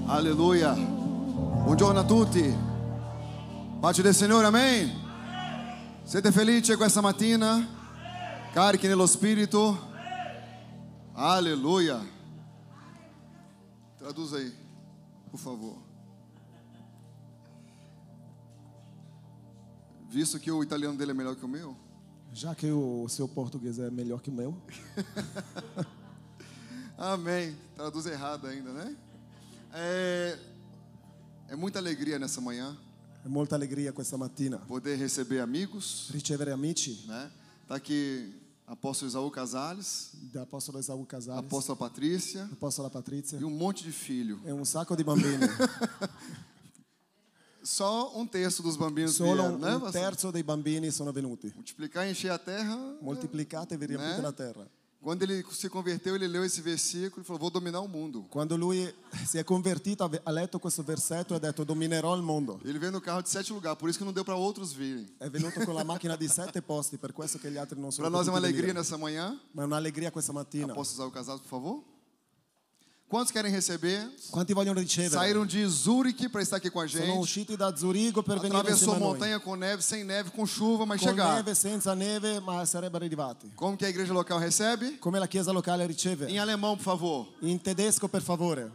Alleluia. Buongiorno a tutti. Pace del Signore, amen. Siete felici questa mattina? Carichi nello spirito? Alleluia. Traduz aí, por favor. Visto que o italiano dele é melhor que o meu. Já que o seu português é melhor que o meu. Amém. Traduz errado ainda, né? É muita alegria nessa manhã. É muita alegria questa mattina. Poder receber amigos. Ricevere amici. Né? Tá aqui apóstolo Isaú Casales. Da apóstolo Isaú Casales. Apóstola Patrícia. Apóstola Patrícia. E um monte de filho. E um sacco di bambini. Só um terço dos bambinos Solo vieram, né? un terzo dei bambini sono venuti. Multiplicar e encher a terra. Moltiplicate e vi riempite la terra. Quando ele se converteu, ele leu esse versículo e falou: vou dominar o mundo. Quando lui si è convertito, ha letto questo versetto e ha detto: dominerò il mondo. Ele veio no carro de 7 lugares, por isso que não deu para outros virem. È venuto con la macchina di 7 posti, per questo che gli altri non sono Para nós é uma potuti alegria venire. nessa manhã. Ma è un'allegria questa mattina. Posso usar o casado, por favor? Quantos querem receber? Quanti vogliono ricevere? Saíram de Zurique para estar aqui com a Sono gente. usciti da Zurigo per venire Atravessou insieme a noi. montanha com neve, sem neve, com chuva, mas Con chegaram. neve, senza neve, ma sarebbero arrivati. Como que a igreja local recebe? Come la chiesa locale riceve? Em alemão, por favor. In tedesco, per favore.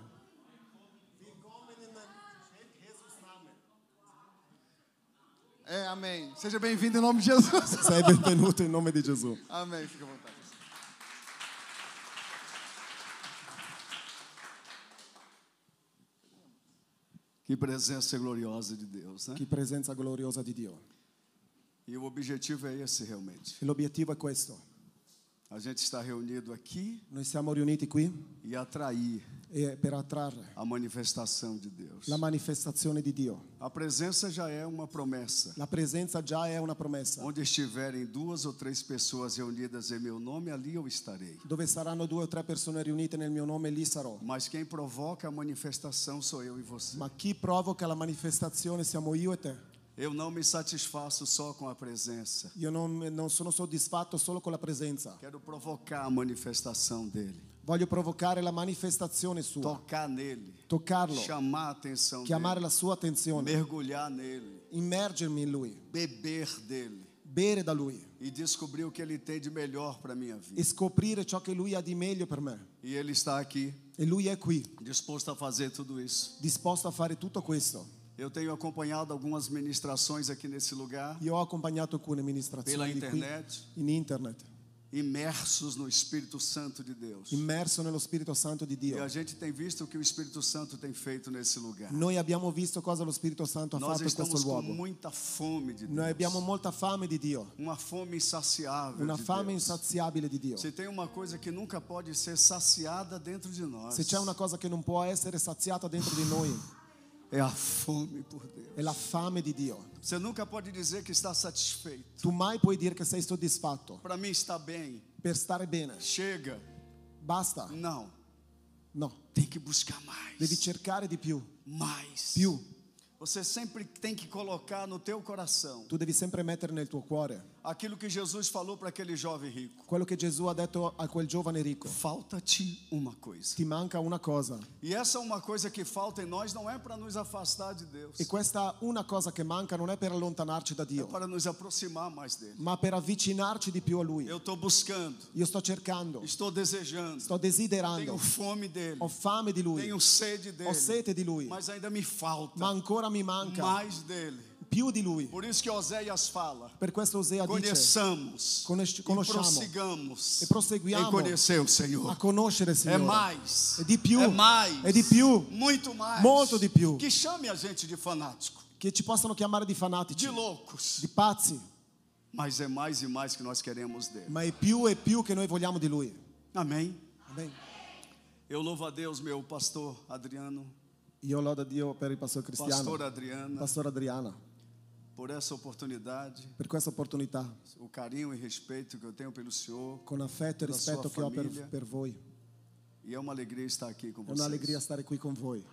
Amém. Seja bem-vindo em nome de Jesus. Sei benvenuto in nome di Gesù. Amém. Fica à vontade. Que presença gloriosa de Deus, né? Che presenza gloriosa di Dio. E o objetivo é esse realmente. E l'obiettivo è questo. A gente está reunido aqui Noi siamo riuniti qui e atrair per attrarre a manifestação de Deus. la manifestazione di Dio. A presença já é uma promessa. La presenza già è una promessa. Onde estiverem 2 ou 3 pessoas reunidas em meu nome, ali eu estarei. Dove saranno 2 o 3 persone riunite nel mio nome, lì sarò. Mas quem provoca a manifestação sou eu e você. Ma chi provoca la manifestazione siamo io e te. Eu não me satisfaço só com a presença. Io non sono soddisfatto solo con la presenza. Quero provocar a manifestação dele. Voglio provocare la manifestazione sua. Tocar nele. Toccarlo. Chamar a atenção Chiamare dele. la sua attenzione. Mergulhar nele. Immergermi in lui. Beber dele. Bere da lui. E descobrir o que ele tem de melhor para a minha vida. E scoprire ciò che lui ha di meglio per me. E ele está aqui, E lui è qui, disposto a fazer tudo isso. disposto a fare tutto questo. Eu tenho acompanhado algumas ministrações aqui nesse lugar, Io ho accompagnato alcune pela amministrazioni di qui internet, in internet, imersos no Espírito Santo de Deus. immerso nello Spirito Santo di E Dio. a gente tem visto o que o Espírito Santo tem feito nesse lugar. Noi abbiamo visto cosa lo Spirito Santo ha Nós fatto in questo estamos com luogo. muita fome de Noi abbiamo Deus. molta fame di Dio, Uma fome insaciável una de fame Deus. insaziabile di Dio. Se tem uma coisa que nunca pode ser saciada dentro de nós, Se c'è una cosa che non può essere saziata dentro di noi, é a fome por Deus. è la fame di Dio. Você nunca pode dizer que está satisfeito. Tu mai puoi dire che sei soddisfatto Para mim está bem. per stare bene. Chega. Basta. Não. No, Tem que buscar mais. devi cercare di più. Mais. Più. Você sempre tem que colocar no teu coração Tu devi sempre mettere nel tuo cuore aquilo que Jesus falou para aquele jovem rico. quello che Gesù ha detto a quel giovane ricco. Falta-te uma coisa. Ti manca una cosa. E essa uma coisa que falta em nós não é para nos afastar de Deus. E questa una cosa che manca non è per allontanarci da É Dio, para nos aproximar mais dele. ma per avvicinarci di più a Lui. Eu estou buscando, Io sto cercando, estou desejando, sto desiderando, tenho fome dele, ho fame di Lui, tenho sede ho dele, sete di Lui, mas ainda me falta ma ancora mi manca mais dele. più di Lui. Por isso que Oséias fala: Per questo Osea dice conheçamos e conosciamo prossigamos e proseguiamo em conhecer o a Senhor. conoscere il É Signore. mais, È di più, é mais, è di più, muito mais, molto di più. que chame a gente de fanático, Che ci possono chiamare di fanatici, de loucos, di pazzi, mas é mais e mais que nós queremos dele. ma è più e più che noi vogliamo di Lui. Amém. Amen. Eu louvo a Deus, meu pastor Adriano, Io lodo a Dio per il pastore Cristiano, pastor Adriana, pastore Adriana, por essa oportunidade, per questa opportunità, o carinho e respeito que eu tenho pelo Senhor. con affetto e Da rispetto sua che ho famiglia. per voi. E é uma alegria estar aqui com È vocês. un'allegria stare qui con voi.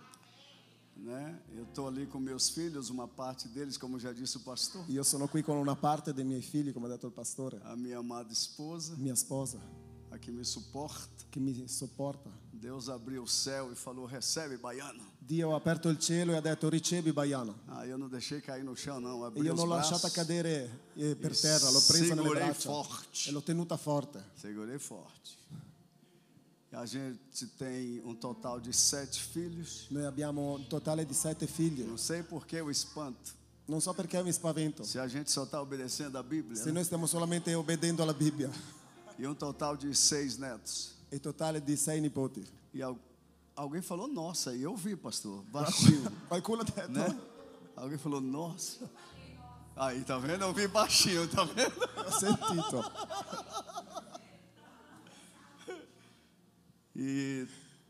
Né? Eu estou ali com meus filhos, uma parte deles, como já disse o pastor, Io sono qui con una parte dei miei figli, come ha detto il pastore, a minha amada esposa, mia sposa, a que me suporta, che mi sopporta, Deus abriu o céu e falou: recebe, baiano. Dio ha aperto il cielo e ha detto ricevi baiano. Ah, eu não deixei cair no chão, não. E Abri io os l'ho lasciata braços, cadere per terra, l'ho presa nelle segurei braccia forte. e l'ho tenuta forte. Segurei forte. E a gente tem um total de 7 filhos. Noi abbiamo un totale di 7 figli. Não sei por que o espanto. Non so perché mi spavento. Se a gente só está obedecendo a Bíblia. Se Né? noi stiamo solamente obbedendo alla Bibbia. E um total de 6 netos. E totale di 6 nipoti. E alguém falou, nossa, e eu vi, pastor, baixinho. Qualcuno ha detto, Né? Alguém falou, nossa. Aí, tá vendo? Eu vi baixinho, tá vendo? ho sentito. E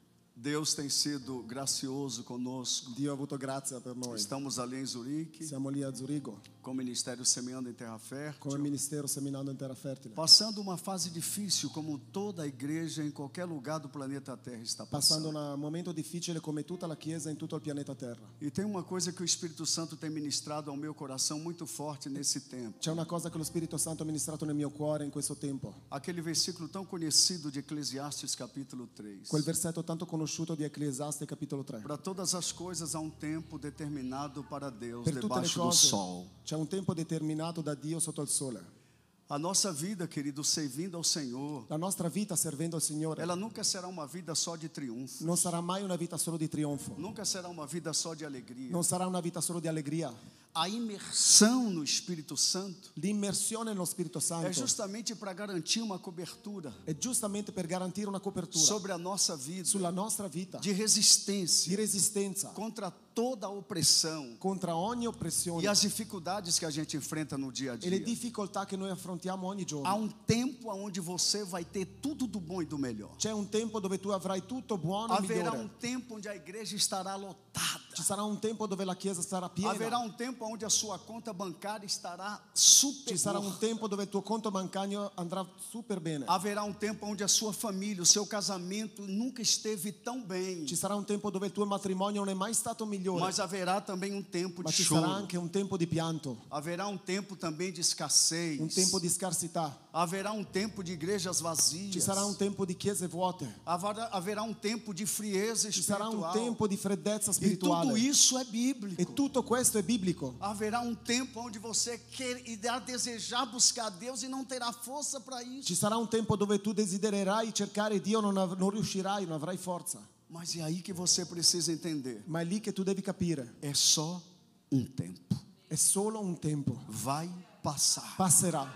Deus tem sido gracioso conosco. Dio ha avuto grazia per noi. Estamos ali em Zurique, Siamo lì a Zurigo, com o Ministério Semeando em Terra come Fértil, ministero seminando in terra fertile. passando uma fase difícil, como toda a igreja em qualquer lugar do planeta Terra está Passando passando. un momento difficile come tutta la Chiesa in tutto il pianeta Terra. E tem uma coisa que o Espírito Santo tem ministrado ao meu coração muito forte nesse tempo. C'è una cosa che lo Spirito Santo ha ministrato nel mio cuore in questo tempo. Aquele versículo tão conhecido de Eclesiastes capítulo 3. Quel versetto tanto conosciuto di Ecclesiaste capitolo 3. Para todas as coisas há um tempo determinado para Deus Per tutte le debaixo do cose sol. c'è un tempo determinato da Dio sotto il sole. A nossa vida, querido, servindo ao Senhor, La nostra vita servendo il Signore ela nunca será uma vida só de triunfo. non sarà mai una vita solo di trionfo. Nunca será uma vida só de alegria. Non sarà una vita solo di allegria. A imersão no Espírito Santo L'immersione nello Spirito é Santo justamente para garantir uma cobertura è giustamente per garantire una copertura sobre a nossa vida sulla nostra vita de di resistência resistenza contra toda a opressão contro ogni e oppressione as dificuldades que a gente enfrenta no dia a e le dia. difficoltà che noi affrontiamo ogni Há giorno. um tempo onde você vai ter tudo do bom e do melhor. C'è un tempo dove tu avrai tutto buono e Haverá migliore. um tempo onde a igreja estará lotada. Ci sarà un tempo dove la Chiesa sarà Haverá piena. um tempo onde a sua conta bancária estará Ci sarà un super. tempo dove il tuo conto bancario andrà super bene. Haverá um tempo onde a sua família, o seu casamento nunca esteve tão bem. Ci sarà un tempo dove il tuo matrimonio non è mai stato migliore. Mas haverá também um tempo Ma de ci sarà choro. anche un tempo di pianto, Haverá um tempo também de escassez. un tempo di scarsità. Haverá um tempo de igrejas vazias. Ci sarà un tempo di chiese vuote. Haverá um tempo de frieza Ci sarà un espiritual. tempo di freddezza E tudo spirituale. isso é bíblico. E tutto questo è biblico. Haverá um tempo onde você irá desejar buscar Deus e não terá força para isso. Ci sarà un tempo dove tu desidererai cercare Dio, non riuscirai, non avrai forza. Mas é aí que você precisa entender. Ma è lì che tu devi capire. É só um tempo. È solo un tempo. Vai passar. Passerà.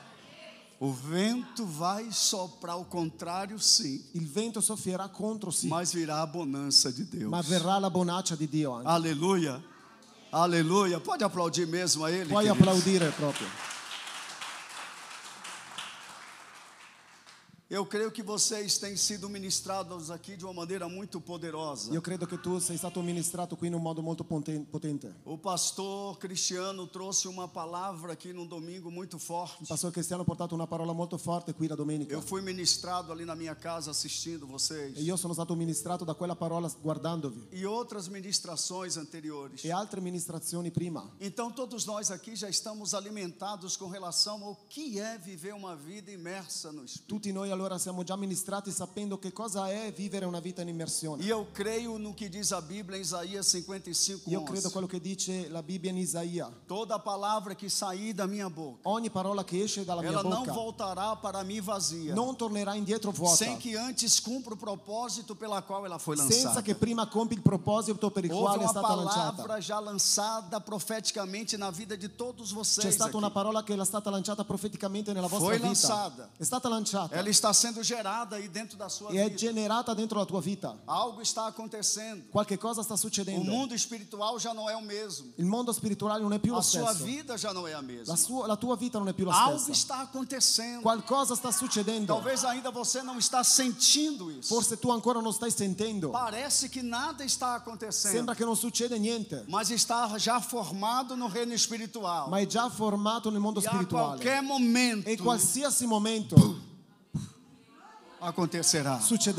O vento vai soprar, o contrário, sim. Il vento soffierà contro sì, Mas virá a bonança de Deus. ma verrà la bonaccia di Dio anche. Aleluia. Aleluia. Pode aplaudir mesmo a Ele, Puoi querido. applaudire proprio. Eu creio que vocês têm sido ministrados aqui de uma maneira muito poderosa. Io credo che tu sei stato ministrato qui in un modo molto potente. O pastor Cristiano trouxe uma palavra aqui no domingo muito forte. Il pastore Cristiano ha portato una parola molto forte qui la domenica. Eu fui ministrado ali na minha casa assistindo vocês. E io sono stato ministrato da quella parola guardandovi. E outras ministrações anteriores. E altre ministrazioni prima. Então todos nós aqui já estamos alimentados com relação ao que é viver uma vida imersa no Espírito. Tutti noi allora siamo già ministrati sapendo che cosa è vivere una vita in immersione. E eu creio no que diz a Bíblia em Isaías 55:11. Io credo quello che dice la Bibbia in Isaia. Toda palavra que sair da minha boca, Ogni parola che esce dalla mia ela não bocca voltará para mim vazia, non tornerà indietro vuota, sem que antes cumpra o propósito pela qual ela foi senza lançada. che prima compi il proposito per il Houve quale è uma stata lanciata. palavra já lançada profeticamente na vida de todos C'è vocês stata aqui. una parola che è stata lanciata profeticamente nella vostra Foi vita. lançada. È stata lanciata Ela está sendo gerada aí dentro da sua e è vida. generata dentro la tua vita. Algo está acontecendo. Qualche cosa sta O succedendo. mundo espiritual já não é o mesmo. Il mondo spirituale non è più lo A sua stesso. vida já não é a mesma. La tua vita non è più la Algo stessa. está acontecendo. Qualcosa sta succedendo. Talvez ainda você não está sentindo isso. Forse tu ancora non stai sentendo. Parece que nada está acontecendo, Sembra che non succede niente, mas está já formado no reino espiritual. ma è già formato nel mondo E a spirituale. qualquer momento E in qualsiasi momento acontecerà. succederà.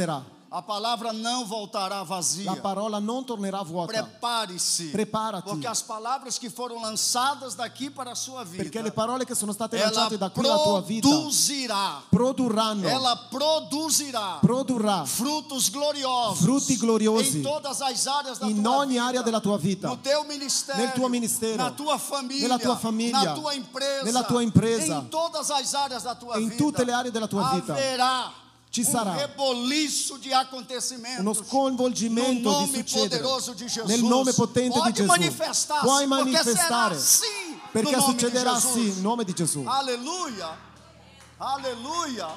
A palavra não voltará vazia. La parola non tornerà vuota. Prepare-se. Preparati. Porque as palavras que foram lançadas daqui para a sua vida, Perché le parole che sono state ela lanciate da qui alla tua vita produrranno. Ela produrrà frutos gloriosos. Frutti gloriosi em todas as áreas da in tua ogni vida. area della tua vita. No teu ministério, Nel tuo ministero, na tua família, nella tua famiglia, na tua empresa, nella tua impresa, em todas as áreas da tua in vida, tutte le aree della tua vita. haverá Ci sarà reboliço de acontecimentos uno sconvolgimento no di nome succedere poderoso de Jesus. nel nome potente Pode di Gesù. manifestar, Puoi porque manifestare será assim perché no nome succederà de sì Jesus. in nome di Gesù. Aleluia, aleluia.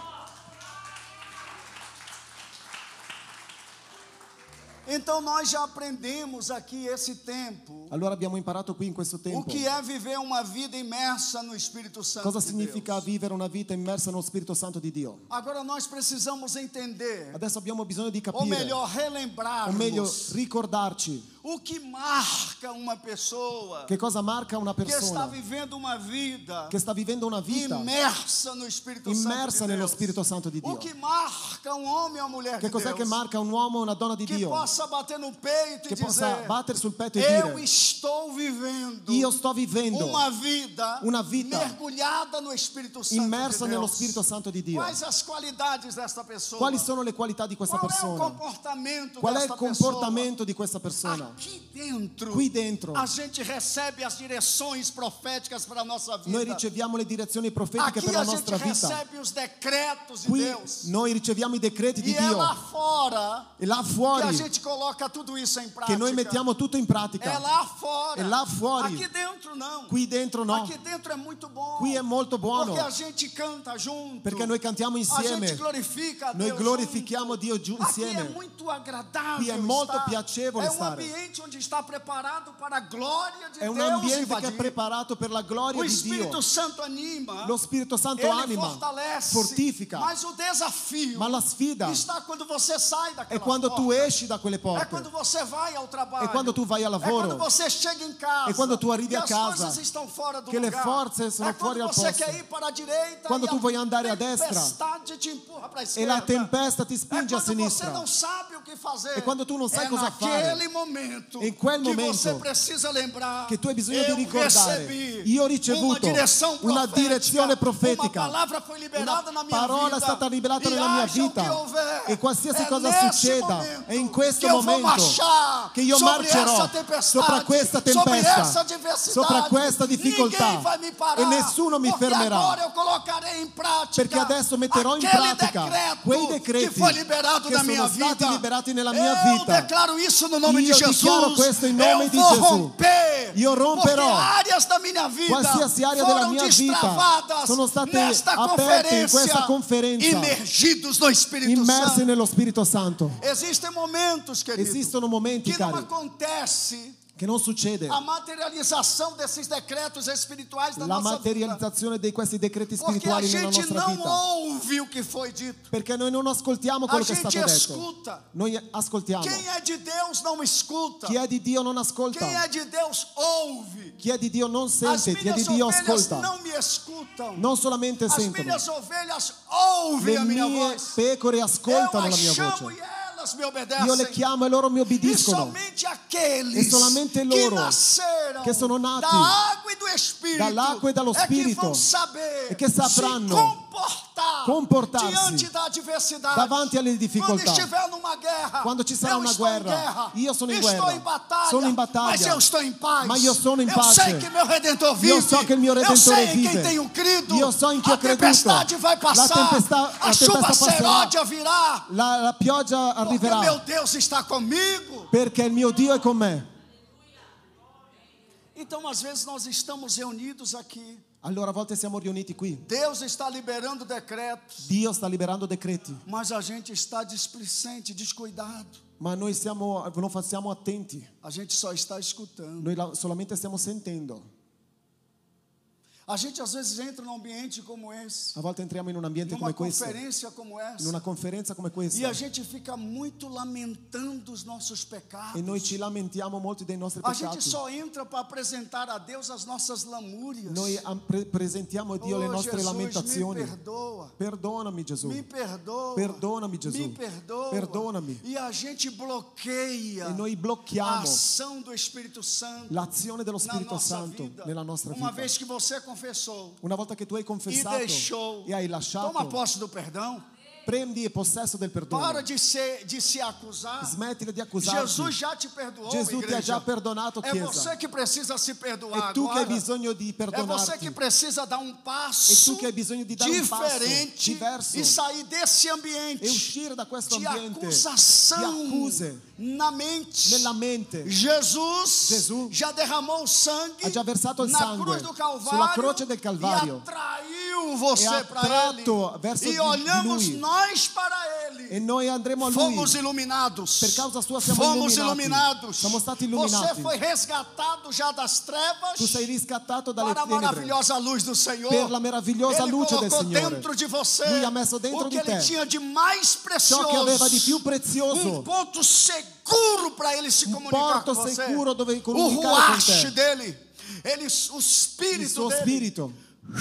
Então nós já aprendemos aqui esse tempo. Allora abbiamo imparato qui in questo O tempo que é viver uma vida imersa no Espírito Santo cosa de significa Deus. vivere una vita immersa nello Spirito Santo di Dio. Agora nós precisamos entender, Adesso abbiamo bisogno di ou capire, melhor, o meglio relembrarmos ricordarci o que marca uma pessoa che cosa marca una que está persona vivendo uma vida che sta vivendo una vita immersa no Espírito immersa Santo de nello Deus. Spirito Santo di O Dio. que marca um homem ou uma mulher Che de cos'è che Deus marca un uomo o una donna di que Dio? possa bater no peito Che e possa dizer: battere sul petto e eu dire: estou vivendo io sto vivendo uma vida mergulhada no Espírito Santo immersa de nello Deus. Spirito Santo di Dio. Quais as qualidades desta pessoa? Quali sono le qualità di questa Qual é o persona? comportamento Qual è il desta comportamento di questa pessoa? persona? Aqui dentro, Qui dentro a gente recebe as direções proféticas para a nossa vida. noi riceviamo le direzioni profetiche Aqui per la a gente nostra vita. recebe os decretos de Qui Deus. noi riceviamo i decreti di E é lá Dio. fora E là que a fuori gente coloca tudo isso em prática. che noi mettiamo tutto in É pratica. lá fora. É lá fora. Aqui dentro não. Qui dentro no. Aqui dentro é muito bom. Qui è molto buono. Porque a gente canta junto. Perché noi cantiamo A gente insieme. glorifica a Noi Deus glorifichiamo junto. Dio giù Aqui insieme. é muito agradável. Qui è molto estar. piacevole É um stare. ambiente onde está preparado para a glória de È un Deus ambiente che è invadir. preparato per la gloria O di Espírito Dio. Santo anima. Lo Spirito Santo Ele anima, fortalece. fortifica. Mas o desafio Ma la sfida está quando você sai daquela è quando tu porta. esci da quelle É porte. quando você vai ao trabalho. È quando tu vai al É quando lavoro. você chega em casa. È quando tu arrivi e a as casa. coisas estão fora do Che le lugar. forze sono é fuori quando al você posto. quer ir para a direita. Quando e tu vuoi andare a a destra. tempestade te empurra para a E esquerda. la tempesta ti É spinge a quando você sinistra. não sabe o que fazer. E quando tu non sai é cosa fare. naquele momento In quel que momento você precisa lembrar. che tu hai bisogno di eu ricordare. recebi Io ho ricevuto una direzione profetica. Uma palavra foi liberada na minha Parola vida. è stata liberata E nella mia haja o vita. que houver. E qualsiasi É cosa nesse succeda, momento è in questo que eu vou momento marchar che io sobre marcerò essa tempestade, sopra questa sobre essa tempesta, adversidade. sopra questa difficoltà. Ninguém vai me parar, E nessuno mi porque fermerà. agora eu colocarei in pratica Perché adesso metterò in aquele pratica decreto quei que decreti foi liberado che na minha sono stati vida. liberati nella mia Eu vita. declaro isso no nome Io de dichiaro Jesus. questo in nome eu di vou Gesù. romper. Io romperò porque áreas da minha vida qualsiasi area foram della mia vita destravadas sono state nesta aperte in questa conferenza, imergidos no Espírito immersi Santo. nello Spirito Santo. Existem momentos, querido, Esistono momenti, que não cari, acontece che non succede a materialização desses decretos espirituais da la nossa vida. materializzazione di questi decreti Porque a spirituali nella gente nostra não vita. ouve o que foi dito. Perché noi non ascoltiamo A quello che è gente stato detto. escuta. Noi ascoltiamo. Quem é de Deus não escuta. Chi è di Dio non ascolta. Quem é de Deus ouve. Chi è di Dio non As sente, chi è di minhas Dio ovelhas ascolta. não me escutam. Non solamente As sentono. minhas ovelhas ouvem Le a minha mie voz. pecore Eu ascoltano la as mia chamo voce. e elas me obedecem. Io le chiamo e loro mi E obbediscono. somente aqueles E solamente que loro nasceram che sono nati da água e do Espírito dall'acqua e dallo é que Spirito vão saber e che sapranno se comportarsi diante da adversidade. davanti alle Quando difficoltà. estiver numa guerra, Quando ci sarà eu una estou em guerra, guerra. io sono in Estou guerra. em batalha, Sono in battaglia. mas eu estou em paz. Ma io sono in Eu pace. sei que meu Redentor vive. Io so che il mio eu Redentore sei em quem vive. tenho crido. Io so in chi ho a creduto. tempestade vai passar. La a chuva tempesta passerà. seródia virá. La pioggia Porque arriverà meu Deus está comigo. perché il mio Dio è con me. Então, às vezes, nós estamos reunidos aqui. Allora a volte siamo riuniti qui. Deus está liberando decretos. Dio sta liberando decreti, Mas a gente está displicente, descuidado. ma noi non siamo attenti. A gente só está escutando. Noi solamente stiamo sentendo. A gente às vezes entra num ambiente como esse, A volte entriamo in un ambiente numa come questo, conferência como in essa, una conferenza come e a questa, gente fica muito lamentando os nossos pecados. e noi ci lamentiamo molti dei nostri A gente peccati. só entra para apresentar a Deus as nossas lamúrias. Noi presentiamo a Dio le nostre Jesus, lamentazioni. me perdoa. Perdonami Gesù. Me perdoa. Perdonami Gesù. Me perdoa. Perdonami. E a gente bloqueia E noi a blocchiamo ação do Espírito Santo l'azione dello na Spirito nossa Santo vida. nella nostra Uma vita. vez que você confessou Una volta che tu hai e confessato deixou, e hai toma lasciato, posse do perdão. prendi possesso del perdono. Para de se acusar. Smettila di accusarti. Jesus já te perdoou, Gesù ti ha igreja. già perdonato, É Chiesa. você que precisa se perdoar È tu che hai agora. bisogno di É você perdonarti. que precisa dar um passo E tu che hai bisogno di dare un passo diferente diverso e sair desse ambiente e uscire da questo de ambiente acusação di accuse na mente. nella mente. Jesus já derramou sangue Ha già versato il na sangue cruz do Calvário sulla croce del Calvario e atraiu e você ha para attratto Ele. verso E di olhamos Lui. nós para Ele. E noi andremo a Lui. Fomos iluminados. Per causa sua siamo Fomos illuminati. iluminados. Siamo stati Você illuminati. foi resgatado já das trevas Tu sei riscattato dalle para a tenebre maravilhosa luz do Senhor. per la meravigliosa Ele luce del colocou Signore. dentro de você Lui ha messo dentro o que di Ele te tinha de mais precioso. ciò che aveva di più prezioso. Ponto seguro para Ele se comunicar porto com você. sicuro dove O comunicare con ruach te. dele. O Il Espírito suo dele. spirito.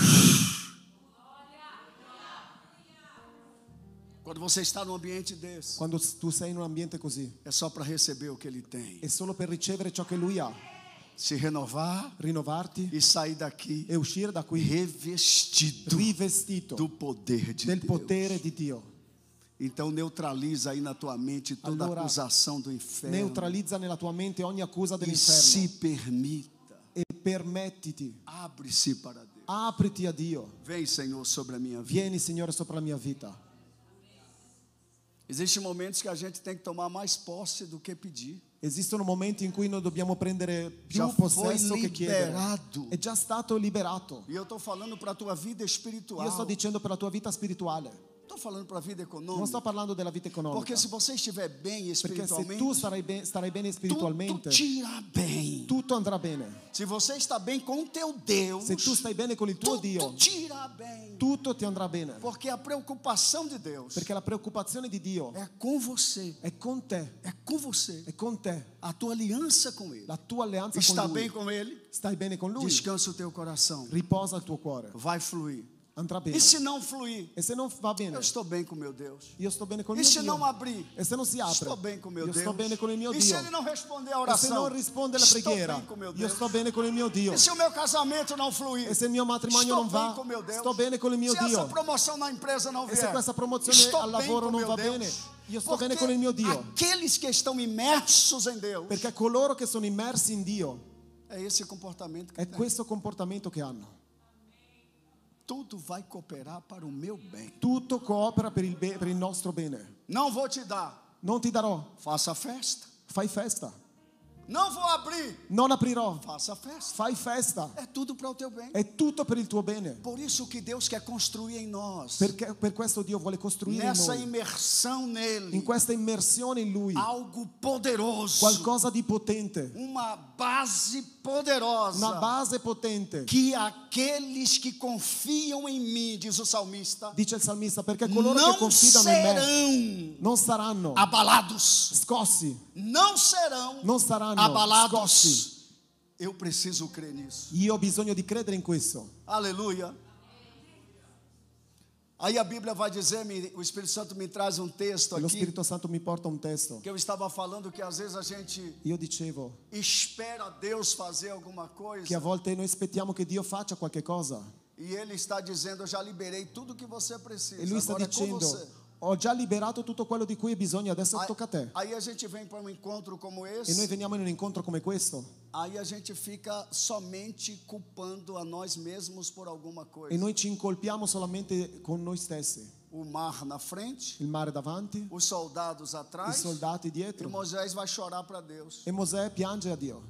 Quando você está num ambiente desse, Quando tu sei in un ambiente così, é só para receber o que Ele tem. è solo per ricevere ciò che Lui ha, Se renovar rinnovarti e sair daqui e uscire da qui revestido rivestito do poder de del Deus. potere di Dio. Então neutraliza aí na tua mente toda Allora, acusação do inferno Neutralizza nella tua mente ogni accusa e dell'inferno se permita, e permettiti, abre-se para Deus. apriti a Dio. Vem, Senhor, sobre a minha vida. Vieni, Signore, sopra la mia vita. Existem momentos que a gente tem que tomar mais posse do que pedir. Esistono momenti in cui noi dobbiamo prendere più Já foi possesso che chiedere. liberado. È già stato liberato. E eu estou falando para a tua vida espiritual. Io sto dicendo per la tua vita spirituale. Estou falando para a vida Non econômica. sto parlando della vita economica. Porque se você estiver bem Perché se espiritualmente, tu starai bene spiritualmente, tudo te irá bem. tutto andrà bene. Se você está bem com o teu Deus, Se tu stai bene con il tuo tudo Dio, te irá bem. tutto ti andrà bene. Porque a preocupação de Deus Perché la preoccupazione di Dio é com você. è con te, É com você. è con te. A tua aliança com Ele. La tua alleanza Está con bem Lui. com Ele? Stai bene con Lui? Descansa o teu coração. Riposa il tuo cuore. Vai fluir. Andrà bene. E se não fluir? E se non va bene? Eu estou bem com meu Deus. Io sto bene con il E mio se Dio. não abrir? E se non si apre? Estou bem com meu Io Deus. sto bene con il mio E se Dio. Ele não responder a E se oração? non risponde alla Estou preghiera? bem com meu Io Deus. sto bene con il mio Dio. E se o meu casamento não fluir? E se il mio matrimonio Estou non bem va? com meu Deus. Sto bene con il mio Se essa Dio. promoção na empresa não E se vier? questa promozione Estou al bem lavoro com non meu va Deus. bene? Io sto Porque bene con il mio Dio. aqueles que estão imersos em Deus, Perché coloro che sono immersi in Dio é esse comportamento que è tem. questo comportamento che hanno. Tudo vai cooperar para o meu bem. Tutto coopera per il nostro bene. Não vou te dar. Non ti darò, Faça festa. fai festa. Não vou abrir. Non aprirò, Faça festa. fai festa. É tudo para o teu bem. È tutto per il tuo bene. Por isso que Deus quer construir em nós, Perché per questo Dio vuole costruire in nessa noi, imersão nele, in questa immersione in Lui, algo poderoso, qualcosa di potente, uma base poderosa, una base potente. que aqueles que confiam em mim, diz o salmista, Dice il salmista, perché coloro che não confidano in me serão non saranno abalados, scossi, não serão non saranno abalados. scossi. Eu preciso crer nisso. Io ho bisogno di credere in questo. Aleluia. Aí a Bíblia vai dizer, o Espírito Santo me traz um texto E lo aqui, Spirito Santo mi porta un testo. que eu estava falando que às vezes a gente Io dicevo espera Deus fazer alguma che a coisa volte noi aspettiamo che Dio faccia qualche cosa. e Ele está dizendo, eu já liberei tudo que você precisa, E Lui sta agora é com dicendo, você. ho già liberato tutto quello di cui hai bisogno, adesso tocca a te. Aí a gente vem para um encontro como E noi esse, veniamo in un incontro come questo aí a gente fica somente culpando a nós mesmos por alguma e coisa. noi ci incolpiamo solamente con noi stessi. O mar na frente, Il mare davanti, os soldados i atrás, soldati e dietro. Moisés vai chorar para Deus. E Mosè piange a Dio.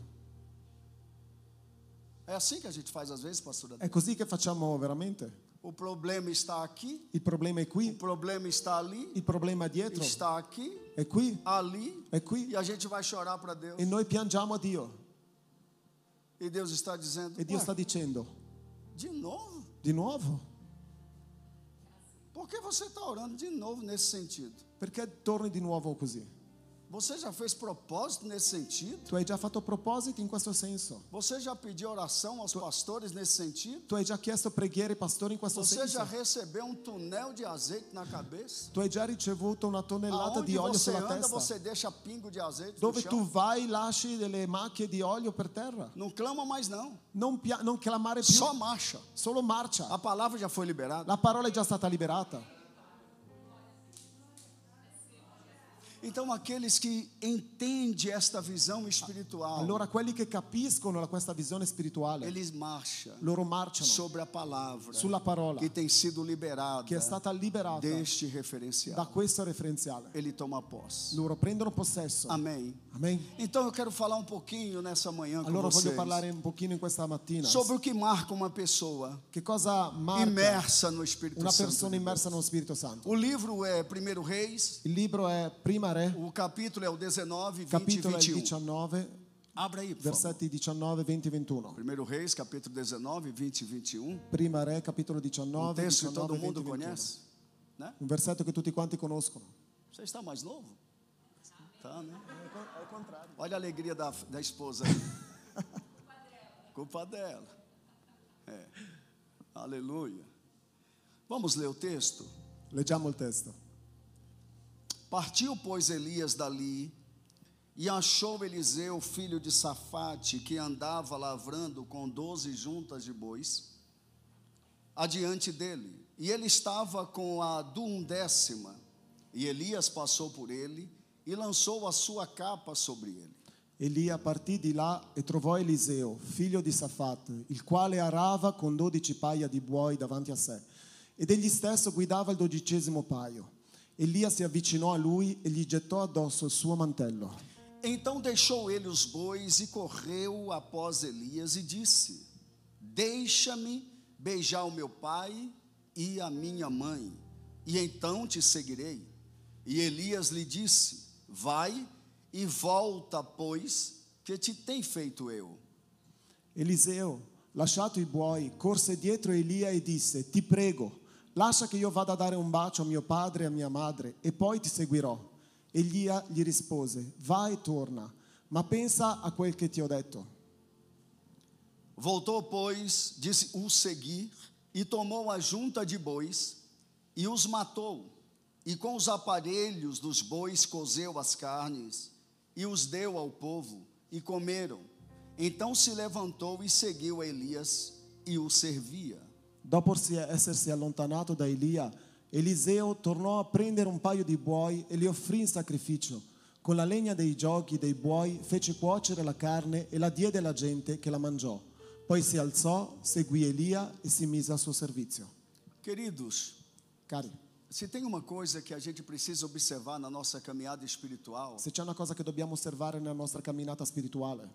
É assim que a gente faz às vezes, pastor Adão. È così che facciamo veramente. O problema está aqui, Il problema è o qui, problema está ali, il problema è dietro, está aqui, è qui, ali, è qui. e a gente vai chorar para Deus. E noi piangiamo a Dio. E Deus está dizendo, E Dio "Ué, sta dicendo, De novo? Di nuovo? Por que você está orando de novo nesse sentido? Perché torni di nuovo così? Você já fez propósito nesse sentido? Tu hai già fatto propositi in questo senso? Você já pediu oração aos pastores nesse sentido? Tu hai già chiesto preghiere ai pastori in questo Você já senso? recebeu um tonel de azeite na cabeça? Tu hai già ricevuto una tonnellata Aonde di olio você sulla anda, testa? você deixa pingo de azeite no Dove tu chão? vai lasci delle macchie di olio per terra. Não clama mais não. Non clamare più, Só marcha. solo marcia. A palavra já foi liberada. La parola è già stata liberata. Então aqueles que entendem esta visão espiritual, Allora quelli che capiscono questa visione spirituale, eles marcham loro marciano sobre a palavra sulla parola que tem sido liberada che è stata liberata deste da referencial. questo referenziale. Ele toma posse. Loro prendono possesso. Amém. Amen. Então eu quero falar um pouquinho nessa manhã com Allora voglio vocês parlare un pochino in questa mattina sobre o que marca uma pessoa che cosa marca imersa no Espírito una Santo. persona immersa nello Spirito Santo. O livro é 1 Reis, Il libro è Prima Re, o capítulo é o 19, 20 e capitolo è il 21. 19, Abra aí, por favor. versetti 19, 20 e 21. 1 Reis, capítulo 19, 20 e 21. Prima Re, capitolo 19, Um texto que 19, todo 20 mundo e 21. conhece, né? Un versetto che tutti quanti conoscono. Você está mais novo? Tá, né? Olha a alegria da esposa aí. Culpa dela. É. Aleluia. Vamos ler o texto? Leggiamo il testo. Partiu, pois, Elias dali e achou Eliseu, filho de Safate, que andava lavrando com 12 juntas de bois, adiante dele. E ele estava com a 11ª. E Elias passou por ele e lançou a sua capa sobre ele. Elia partì di là e trovò Eliseo, figlio di Safat, il quale arava con 12 paia di buoi davanti a sé, ed egli stesso guidava il 12° paio. Elia si avvicinò a lui e gli gettò addosso il suo mantello. Então deixou ele os bois e correu após Elias e disse: Deixa-me beijar o meu pai e a minha mãe, e então te seguirei. E Elias lhe disse: Vai e volta, pois, che ti tem feito eu? Eliseo, lasciato i buoi, corse dietro Elia e disse: Ti prego, lascia che io vada a dare un bacio a mio padre e a mia madre, e poi ti seguirò. Elia gli rispose: Vai e torna, ma pensa a quel che ti ho detto. Voltou, pois, disse o seguir, e tomou a junta de bois, e os matou, e com os aparelhos dos bois cozeu as carnes, e os deu ao povo, e comeram. Então se levantou e seguiu a Elias, e o servia. Dopo essersi allontanato da Elia, Eliseo tornò a prendere un paio di buoi e li offrì in sacrificio. Con la legna dei giochi dei buoi fece cuocere la carne e la diede alla gente che la mangiò. Poi si alzò, seguì Elia e si mise al suo servizio. Queridos, Cari, se tem uma coisa que a gente precisa observar na nossa caminhada espiritual, se c'è una cosa che dobbiamo osservare nella nostra camminata spirituale,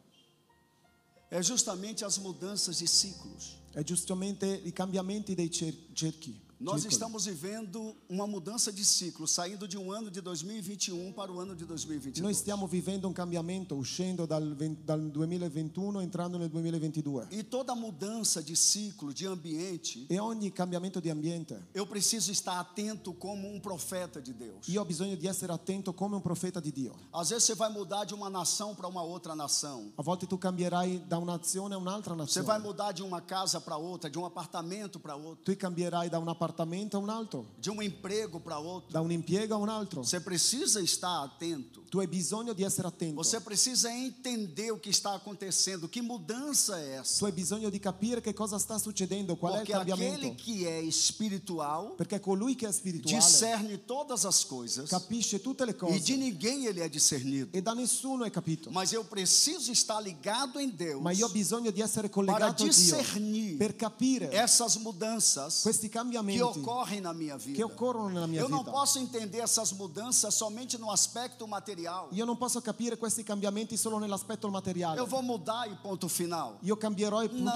é justamente as mudanças de ciclos. è giustamente i cambiamenti dei cerchi. Nós circoli. estamos vivendo uma mudança de ciclo, saindo de um ano de 2021 para o ano de 2022. Noi stiamo vivendo un cambiamento, uscendo dal 2021 e entrando nel 2022. E toda mudança de ciclo, de ambiente, E ogni cambiamento di ambiente, eu preciso estar atento como um profeta de Deus. io ho bisogno di essere attento come un profeta di Dio. Às vezes você vai mudar de uma nação para uma outra nação. A volte tu cambierai da un'azione a un'altra Você vai nazione. mudar de uma casa para outra, de um apartamento para outro, Tu cambierai da un appartamento a un altro, de um emprego para outro. da un impiego a un altro. Você precisa estar atento. Tu hai bisogno di essere attento. Você precisa entender o que está acontecendo. Que mudança é essa? Tu hai bisogno di capire che cosa sta succedendo, qual è il Porque aquele cambiamento. que é espiritual Perché colui che è spirituale discerne todas as coisas capisce tutte le e de cose ninguém ele é discernido. e da nessuno è capito. Mas eu preciso estar ligado em Deus Ma io ho bisogno di essere para collegato a Dio discernir per capire essas mudanças questi que cambiamenti ocorrem na minha vida. che occorrono nella mia Eu não vita. posso entender essas mudanças somente no aspecto material. Io non posso capire questi cambiamenti solo nell'aspetto materiale. Eu vou mudar e ponto final. Io cambierò il punto, No.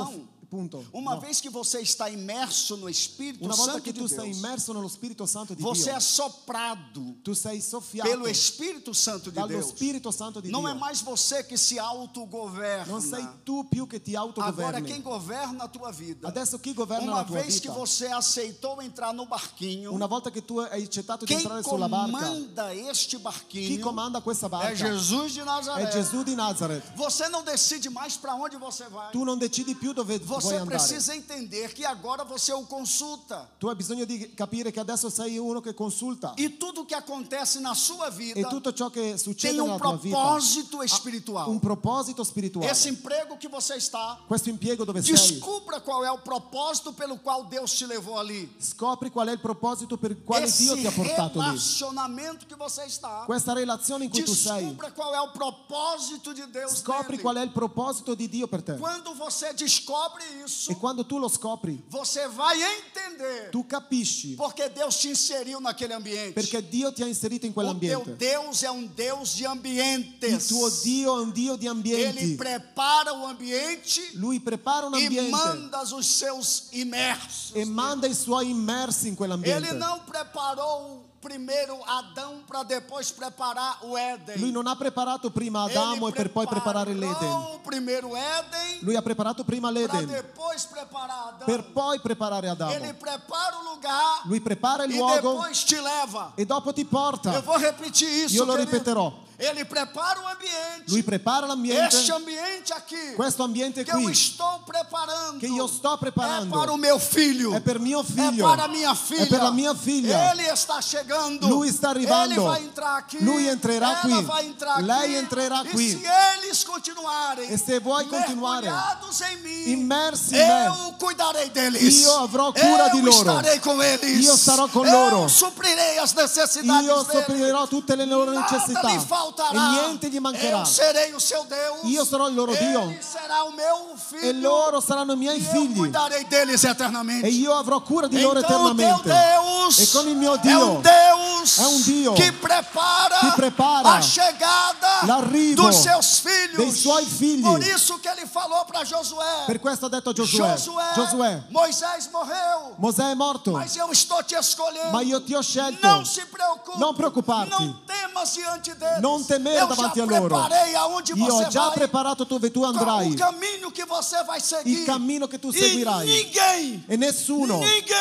Punto. Uma No. vez que você está imerso no Espírito Una volta Santo che de tu sei Deus, immerso nello Spirito Santo di você Dio, é soprado tu sei soffiato pelo Espírito Santo de dallo Deus. Spirito Santo di Não Dio. é mais você que se autogoverna. Non sei tu più che ti Agora quem autogoverni. governa a tua vida, Adesso chi governa uma la tua vez que vita? você aceitou entrar no barquinho, Una volta che tu hai accettato di quem entrare sulla barca, comanda este chi barquinho comanda questa barca é Jesus de è Nazaré. Gesù di Nazareth. Você não decide mais para onde você vai. Tu non decidi più dove vuoi Você andare. precisa entender que agora você o consulta. Tu hai bisogno di capire che adesso sei uno che consulta. E tudo que acontece na sua vida E tutto ciò che succede tem nella tua vita propósito ha espiritual. un proposito spirituale. Esse emprego que você está, Questo impiego dove sei, descubra qual é o propósito pelo qual Deus te levou ali. scopri qual è il proposito per il quale Esse Dio ti ha portato lì. relacionamento que você está, Questa relazione in cui tu sei, descubra qual é o propósito de Deus scopri nele. qual è il proposito di Dio per te. Quando você descobre isso, E quando tu lo scopri, você vai entender tu capisci porque Deus te inseriu naquele ambiente. perché Dio ti ha inserito in O teu quell'ambiente. Deus é um Deus de Il ambientes. tuo Dio è un Dio di Ele ambienti. prepara o ambiente Lui prepara un e ambiente manda os seus imersos. e manda i suoi immersi in Ele quell'ambiente. não preparou primeiro Adão para depois preparar o Éden. Lui non ha preparato prima Adamo e per poi preparare l'Eden. preparou o primeiro Éden Lui ha preparato prima para l'Eden depois preparar Adão. per poi preparare Ele Adamo. prepara o lugar Lui prepara il e luogo depois te leva. e dopo ti Eu porta. vou repetir isso, Io lo querido. ripeterò. Ele prepara o ambiente. Lui prepara l'ambiente, Este ambiente aqui questo ambiente que eu qui estou preparando che io sto é preparando para o meu filho. è per mio É figlio, para a minha filha. è per la mia figlia. Ele está chegando. Lui sta arrivando. Ele vai entrar aqui. Lui entrerà Ela qui. vai entrar Lei aqui. entrerà e qui. se eles continuarem E se vuoi continuare mergulhados em mim, immersi in me, eu cuidarei deles. Io avrò cura di loro. Estarei com eles. Io sarò con Eu loro. suprirei as necessidades io deles. sopprirò tutte le loro necessità Nada lhe faltará. e niente gli mancherà. Eu serei o seu Deus. Io sarò il loro Dio. Ele será o meu filho. E loro saranno i miei E eu figli cuidarei deles eternamente. e io avrò cura di loro Então, o teu eternamente. Deus E con il mio é Dio Deus, é um Dio que prepara, que prepara a chegada l'arrivo dos seus filhos. dei suoi figli. Por isso que ele falou para Josué. Per questo ha detto Giosuè, Moisés morreu, Mosè è morto, mas eu estou te escolhendo. ma io ti ho scelto. Não se preocupe. Non preoccuparti. Não temas diante deles. Non temere eu davanti já a loro. preparei aonde Io você ho già vai. preparato dove tu andrai, O caminho que você vai seguir. il cammino che tu E seguirai. ninguém E nessuno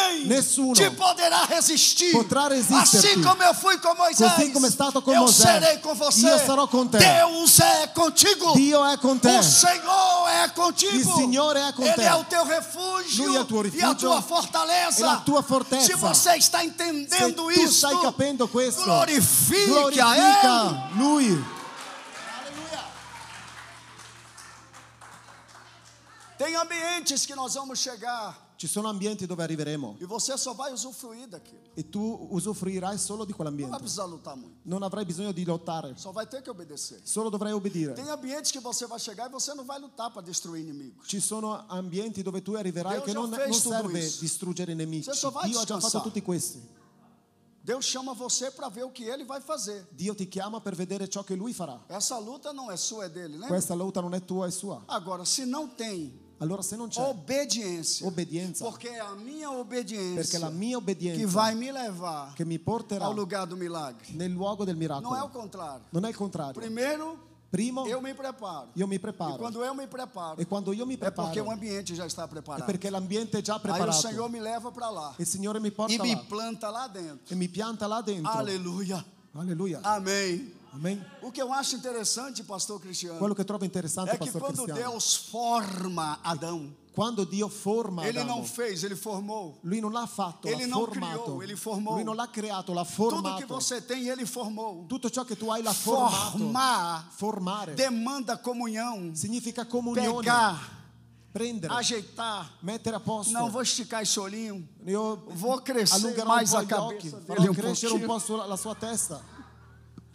te poderá resistir. potrà resisterti. Assim como eu fui com Moisés, Così come è stato con eu Mosè, serei com você. io sarò con te. Deus é contigo. Dio è con te. O Senhor é contigo. Il Signore è con Ele te. é o teu refúgio. Lui è il tuo e a rifugio tua fortaleza. e la tua fortezza. Se você está Se entendendo tu isso, stai capendo questo, glorifique a Ele. glorifica Lui. Tem ambientes que nós vamos chegar Ci sono ambienti dove arriveremo e você só vai usufruir daquilo. e tu usufruirai solo di Não vai quell'ambiente. precisar lutar muito. Non avrai bisogno di lottare, Só vai ter que obedecer. solo dovrai obbedire. Tem ambientes que você vai chegar e você não vai lutar para destruir inimigos. Ci sono ambienti dove tu arriverai Deus che già non fez tudo serve isso. distruggere i nemici. Você só vai Dio ha già descansar. fatto tutti questi. Deus chama você para ver o que Ele vai fazer. Dio ti chiama per vedere ciò che Lui farà. Essa luta não é sua, é dele, né? Questa lotta non è tua, è sua. Agora, se não tem Allora se non c'è obediência, obbedienza, porque é a minha perché obediência la mia que obbedienza vai me levar che mi porterà ao lugar do milagre. nel luogo del Não é o miracolo. contrário. Non è il contrario. Primeiro, Primo, eu me preparo. io mi E preparo. quando eu me preparo, E quando io mi é porque o preparo, ambiente já está è preparado. perché l'ambiente è già Aí o preparato. Senhor me leva para lá Il Signore mi e porta me là planta lá dentro. e mi pianta là dentro. Aleluia. Alleluia. Amém. Amen. O que eu acho interessante, pastor Cristiano, Quello che trovo interessante, é que Pastor quando Cristiano, Deus forma Adão, quando Dio forma Ele Adamo, não fez, Ele formou. Lui non l'ha fatto, Ele l'ha não formato. criou, Ele formou. Lui non l'ha creato, l'ha Tudo que formato. você tem, Ele formou. Tutto ciò che tu hai l'ha formato. Formar Formare demanda comunhão, significa comunione. pegar, Prendere, ajeitar. mettere a posto. Não vou esticar esse olhinho, Io vou crescer allungherò mais un a po' gli occhi, cabeça farò dele crescere un pouquinho. po' la sua testa.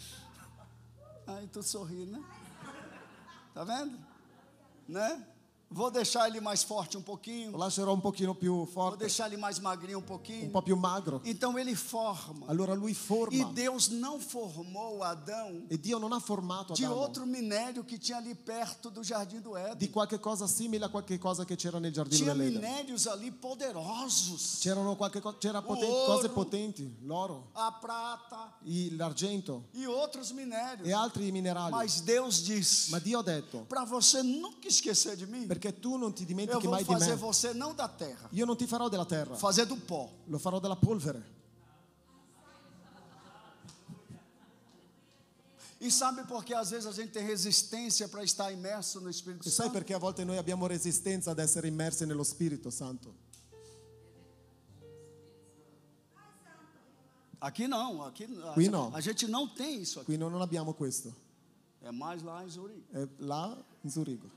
Ai, tu sorri, né? Tá vendo? Né? Vou deixar ele mais forte um pouquinho. lo lascerò un pochino più Vou forte, deixar ele mais magrinho um un pouquinho. po' più magro. Então ele forma. Allora lui E forma. Deus não formou Adão E Dio non ha formato de Adamo outro minério que tinha ali perto do jardim do di Éden. qualche cosa simile a qualche cosa che c'era nel giardino Tinha dell'Eden. minérios ali poderosos. C'era Ouro. cose potenti, l'oro, A prata l'argento e outros minérios. e altri minerali. Mas Deus disse: Ma Dio ha detto, para você nunca esquecer de mim, perché tu non ti eu dimentichi vou mai di fazer me. você não da terra, Io non ti farò della terra, fazer do pó. lo farò della polvere. E sabe por que às vezes a gente tem resistência para estar imerso no Espírito E sai Santo? perché a volte noi abbiamo resistenza ad essere immersi nello Spirito Santo? Aqui não, aqui Qui no. a gente não tem isso aqui. Qui noi non abbiamo questo. É mais lá em Zurique. È là in Zurigo.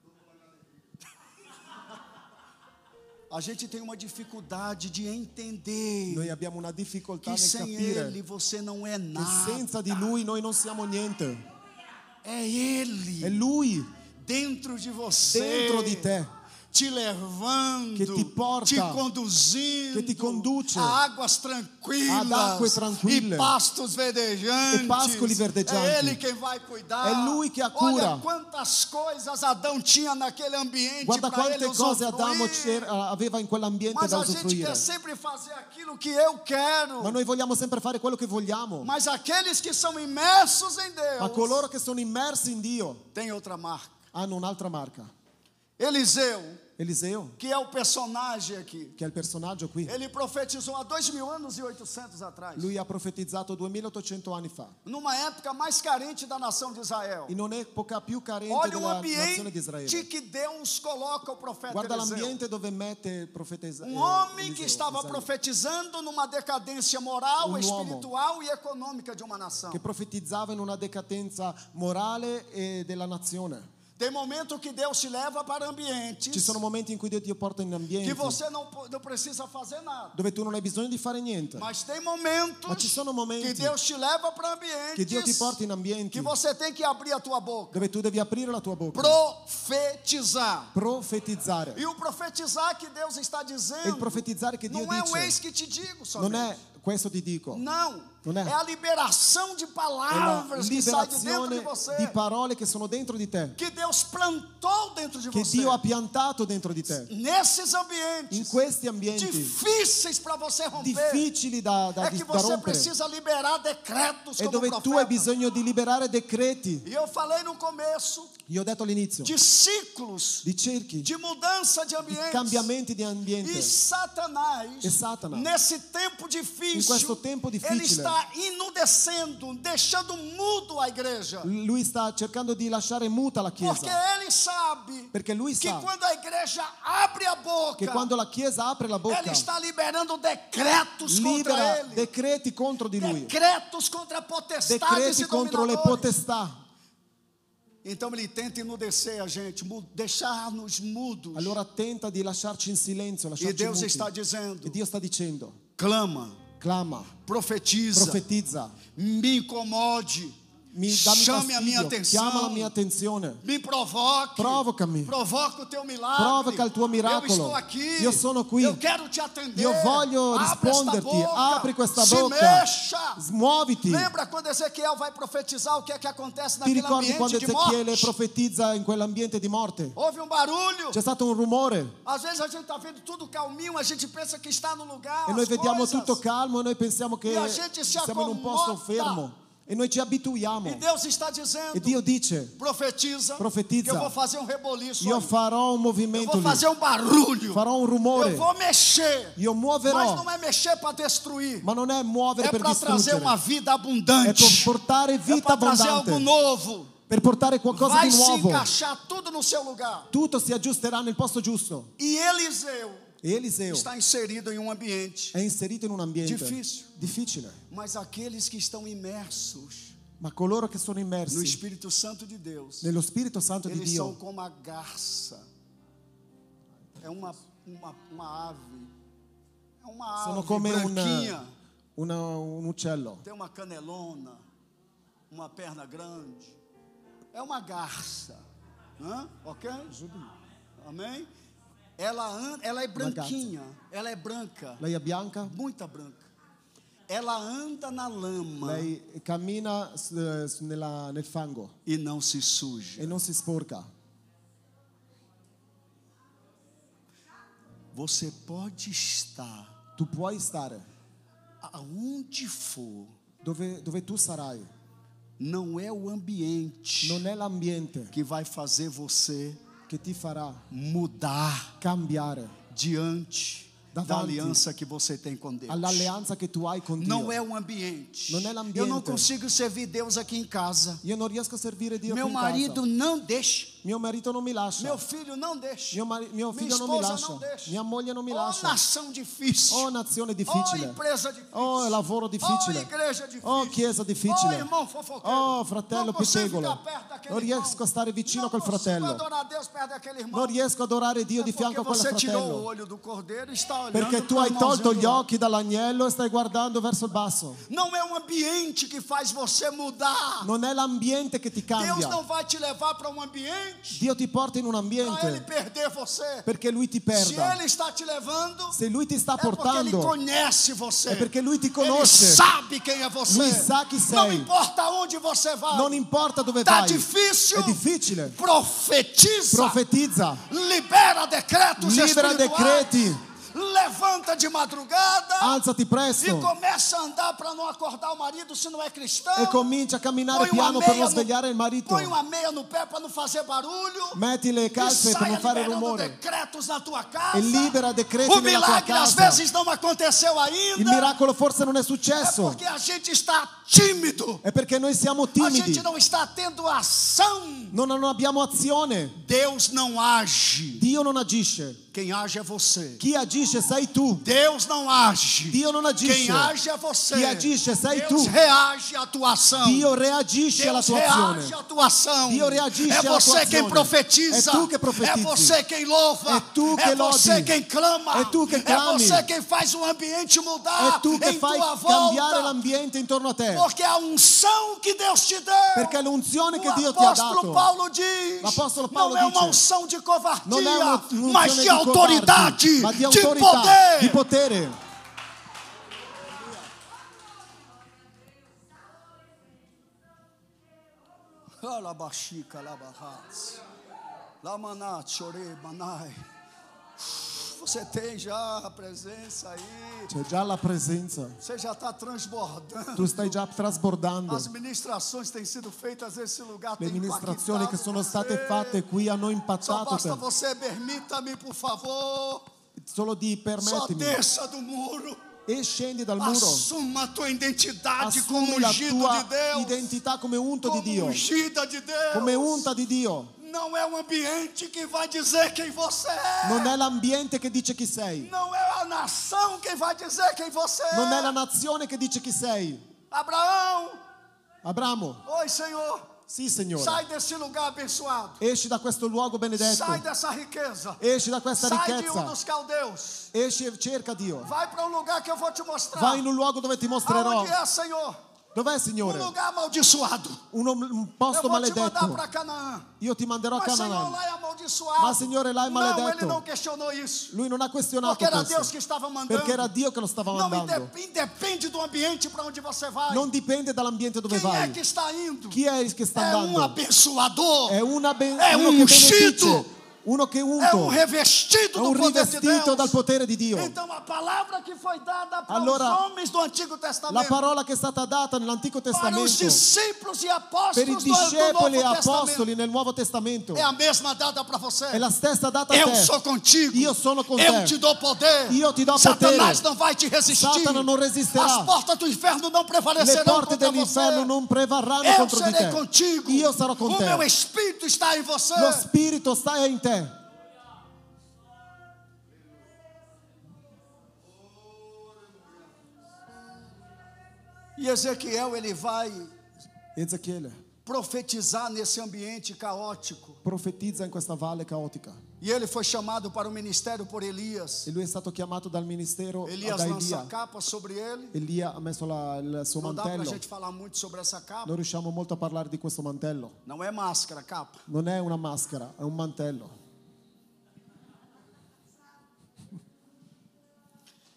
A gente tem uma dificuldade de entender Noi abbiamo una difficoltà que nel sem capire Ele você não é che nada. senza di Lui noi non siamo niente. É Ele È Lui dentro de você, dentro di te te levando, che ti porta, te conduzindo che ti conduce a águas tranquilas, ad acque tranquille e pastos verdejantes. e pascoli verdeggianti. É Ele quem vai cuidar. È Lui che ha cura. Olha quantas coisas Adão tinha naquele ambiente Guarda para ele quante cose Adamo usufruir. aveva in quell'ambiente Mas da a gente usufruire. quer sempre fazer aquilo que eu quero. Ma noi vogliamo sempre fare quello che vogliamo. Mas aqueles que são imersos em Deus Ma coloro che sono immersi in Dio têm outra marca. hanno un'altra marca. Eliseu, Eliseo, que é o personagem aqui, che è il personaggio qui, ele profetizou há 2.000 anos e 800 atrás, lui ha profetizzato 2800 anni fa, numa época mais carente da nação de Israel. in un'epoca più carente Olha o della nazione di ambiente Israele. que Deus coloca o profeta Guarda Eliseu. l'ambiente dove mette il profeta Um homem que Eliseo, estava Isaia, profetizando numa decadência moral, uomo espiritual e econômica de uma nação. che profetizzava in una decadenza morale e della nazione. Tem momento que Deus te leva para ambientes Ci sono momenti in cui Dio ti porta in ambienti que você não precisa fazer nada. dove tu non hai bisogno di fare niente, Mas tem momentos ma ci sono momenti que Deus te leva para che Dio ti ambientes porta in ambienti que você tem que abrir a tua boca, dove tu devi aprire la tua bocca, profetizar. profetizzare. E o profetizar que Deus está E il dizendo profetizzare che Dio não é o eis dice que te digo non somente. è questo ti dico, Não, Non è. é a liberação de è la palavras que sai de dentro de liberazione você, di parole che sono dentro di te, que Deus plantou dentro de che você. Dio ha piantato dentro di te, Nesses ambientes in questi ambienti difíceis para você romper, difficili da é que da você rompere, precisa liberar decretos e como dove tu profeta. hai bisogno di liberare decreti. E eu falei no começo Io ho detto all'inizio de ciclos, di cerchi, de mudança de di ambientes. cambiamenti di E ambiente. Satanás, E Satana, nesse tempo difícil, in questo tempo ele difficile, está enudecendo, deixando mudo a igreja. lui sta cercando di lasciare muta la Porque Chiesa, ele sabe perché lui que sa quando a igreja abre a boca, che quando la Chiesa apre la ele bocca está liberando decretos contra libera ele. decreti contro di lui, Decretos contra potestades decreti e contro le dominadores. potestà. Então ele tenta enudecer a gente, deixar-nos mudos. Allora tenta di lasciarci in silenzio, E lasciarci Deus muti. está dizendo: E Dio sta dicendo, clama, clama, profetiza, profetizza, me incomode, dammi chame a minha fastidio, atenção, chiama la mia attenzione, me provoque, provocami, provoca o teu milagre, provoca il tuo miracolo. eu estou aqui, Io sono qui, eu quero te atender, io voglio abre esta risponderti, boca, apri questa se bocca, mexa. muoviti. Lembra quando Ezequiel vai profetizar o que é que acontece Ti naquele ricordi quando ambiente de Ezechiele morte? profetizza in quell'ambiente di morte? Houve um barulho. C'è stato un rumore Às vezes a gente está vendo tudo calminho, a gente pensa que está no lugar, e noi as vediamo coisas. tutto calmo e noi pensiamo che E a gente si siamo in un posto accomoda. fermo e noi ci abituiamo. E Deus está dizendo: E Dio dice, profetiza, Profetizza. que eu vou fazer um reboliço, io aí. farò un Eu movimento vou lì, fazer um barulho, farò un rumore, eu vou mexer, io mas muoverò, não é mexer para destruir, ma non è muovere é per para trazer uma distruggere, vida è abundante, per portare é vita para trazer algo abbondante, novo. per portare qualcosa Vai di se nuovo. encaixar tudo no seu lugar. Tutto si aggiusterà nel posto giusto. E Eliseu E Eliseo está inserido em um ambiente, è inserito in un ambiente difficile, difficile, mas aqueles que estão imersos ma coloro che sono no immersi Espírito Santo de Deus, nello Spirito Santo di eles são Dio como a garça. É uma ave. É uma sono ave come branquinha. un uccello. Tem uma canelona, uma perna grande. É uma garça. Hã? Ok? Amém? Ela é branquinha, ela é branca, Lei è bianca, muita branca. Ela anda na lama lei cammina nel fango e não se suja. e non si sporca. Você pode estar Tu puoi stare aonde for, dove tu sarai. não é o ambiente Non è l'ambiente que vai fazer você che ti farà mudar cambiare diante da Davanti aliança que você tem com Deus. all'alleanza che tu hai con Dio. Não é o ambiente. Non è l'ambiente. Eu não consigo servir Deus aqui em casa. Io non riesco a servire Dio Meu qui in marido casa. não deixa. Mio marito non mi lascia. Meu filho não deixa. Mio Minha figlio non mi esposa lascia. não deixa. Mia moglie non mi Oh, lascia. nação difícil. Oh, nazione Oh, difficile. empresa difícil. Oh, lavoro Oh, difficile. igreja difícil. Oh, chiesa Oh, difficile. irmão fofoqueiro. Oh, fratello Não consigo pettegolo. ficar perto daquele Non irmão. riesco a stare vicino Não col consigo fratello. adorar Deus perto daquele irmão. Non riesco ad adorare Dio di Porque fianco a quel você tirou o fratello. olho do cordeiro e está olhando Perché tu pro hai tolto irmãozinho gli do lado. occhi dall'agnello e stai guardando verso il basso. Não é um ambiente que faz você mudar. Non è l'ambiente che ti Deus cambia. não vai te levar para um ambiente Dio ti porta in un para ele ambiente perder você. perché Lui ti Se perda. ele está te levando, Se Lui ti sta é porque ele portando, conhece você. è perché Lui ti Ele conosce. sabe quem é você. Lui sa chi Não sei. importa onde você vai. Non importa dove Tá vai. difícil. È difficile. Profetiza. Profetizza. Libera decretos Libera espirituais. decreti. Levanta de madrugada. Alzati E presto começa a andar para não acordar o marido se não é cristão. e comincia a camminare Põe uma piano per meia non svegliare il marito. Põe uma meia no pé para não fazer barulho. Metti le E calze per saia non fare liberando rumore. decretos na tua casa. E libera decreti O nella tua milagre às casa. vezes não aconteceu ainda. Il miracolo forse non è É successo. porque a gente está tímido. È perché noi siamo A timidi. gente não está tendo ação. Non abbiamo azione. Deus não age. Dio non agisce. Quem age é você. Chi agisce sei tu. Deus não age. Dio non agisce. Quem age é você. Chi agisce sei Deus tu. reage à tua ação. Dio reagisce alla Deus tua reage azione. à tua ação. Dio reagisce É alla tua você quem azione. profetiza. É tu que profetizi. É você quem louva. É tu que É você lodi. quem clama. É tu que É clami. você quem faz o ambiente mudar È tu che em fai tua cambiare volta. l'ambiente intorno a te. Porque a unção que Deus te deu. Perché l'unzione che O Dio ti ha apóstolo dato Paulo diz. L'apostolo Paolo não é uma dice, unção de covardia, non è un'unzione mas de di autoridade, covardi, ma di de autorità, poder. di potere. Alabaxica, alabarras. Lamaná, chorei, manai. Você tem já a presença aí. C'è già la presenza. Você já está transbordando. Tu stai già trasbordando. As ministrações têm sido feitas nesse lugar. Le têm ministrazioni che sono impactado state você. fatte qui hanno Só impattato basta te. você, permita-me, por favor. Solo di Só permettimi. desça do muro. E scendi dal muro. Assuma a tua identidade como Assumi la ungido tua de Deus. identità come unto di Como Dio. ungida de Deus. Come unta di Dio. Não é o ambiente que vai dizer quem você é. Non è l'ambiente che dice chi sei. Não é a nação quem vai dizer quem você é. Non è la nazione che dice chi sei. Abraão, Abramo, oi Senhor, sì Signore. sai desse lugar abençoado. Esci da questo luogo benedetto. Sai dessa riqueza. Esci da questa Sai de ricchezza. dos caldeus. Esci e cerca Dio. Vai para um lugar que eu vou te mostrar. Vai in un luogo dove ti mostrerò. Aonde é, Senhor? Dov'è Um Signore? lugar amaldiçoado. Un Eu posto vou te mandar maledetto. para Canaã. Io ti manderò a Mas Senhor, Canaan. lá é amaldiçoado. Ma Signore, là è Não, ele maledetto. não questionou isso. Lui non ha questionato Porque era Deus questo. que estava mandando. Perché era Dio che lo stava Não mandando. independe do ambiente para onde você vai. Non dipende dall'ambiente dove Quem é vai. que está indo? Chi è che sta É um andando? abençoador. È È uno un che ungido. benedice. Uno che É um unto. revestido È do un poder de rivestito Deus. dal potere di Dio. Então a palavra que foi dada para Allora, os homens do Antigo La Testamento, parola che è stata data nell'Antico para os Testamento discípulos e per i apóstolos do discepoli e Novo Testamento, apostoli nel Nuovo Testamento é a mesma dada para você. è la stessa data a Eu te. sou contigo. Io sono con Eu te. te dou poder. Io ti do Satanás potere. não vai te resistir. Satana non resisterà. As portas do inferno não Le prevalecerão porte contra dell'inferno você. non prevarranno Eu contro di serei te. contigo. Io sarò con O meu te. espírito está em você. Lo spirito sta in te. E Ezequiel, ele vai Ezechiele profetizar nesse ambiente caótico. profetizza in questa valle caotica. E ele foi chamado para o ministério por Elias. E lui è stato chiamato dal ministero Elias da lança a Elia. capa sobre ele. Elia ha messo il suo Não dá para a mantello. gente falar muito sobre essa capa. Non riusciamo molto a parlare di questo mantello. Não é máscara, capa. Non è una maschera, è un mantello.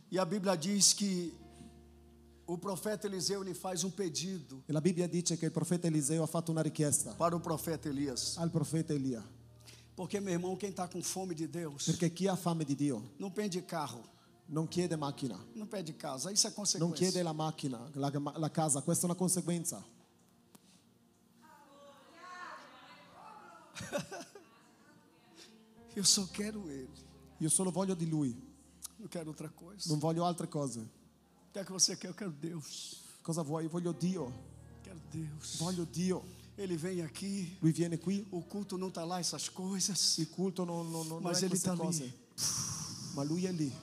E a Bíblia diz que o profeta Eliseu lhe faz um pedido E la Bibbia dice che il profeta Eliseo ha fatto una richiesta para o profeta Elias. al profeta Elia. Porque, meu irmão, quem está com fome de Deus Perché chi ha fame di Dio não pede carro, non chiede macchina, não pede casa. Isso é non consequência. chiede la macchina, la casa. Questa è una conseguenza. Eu só quero Ele, Io solo voglio di Lui, não quero outra coisa. non voglio altre cose. O que é que você quer? Eu quero Deus. Cosa vuoi? Io voglio Dio, Quero Deus. voglio Dio. Ele vem aqui, Lui viene qui, o culto não está lá, essas coisas. il culto non Mas è ele queste está cose, ali. ma Lui è lì.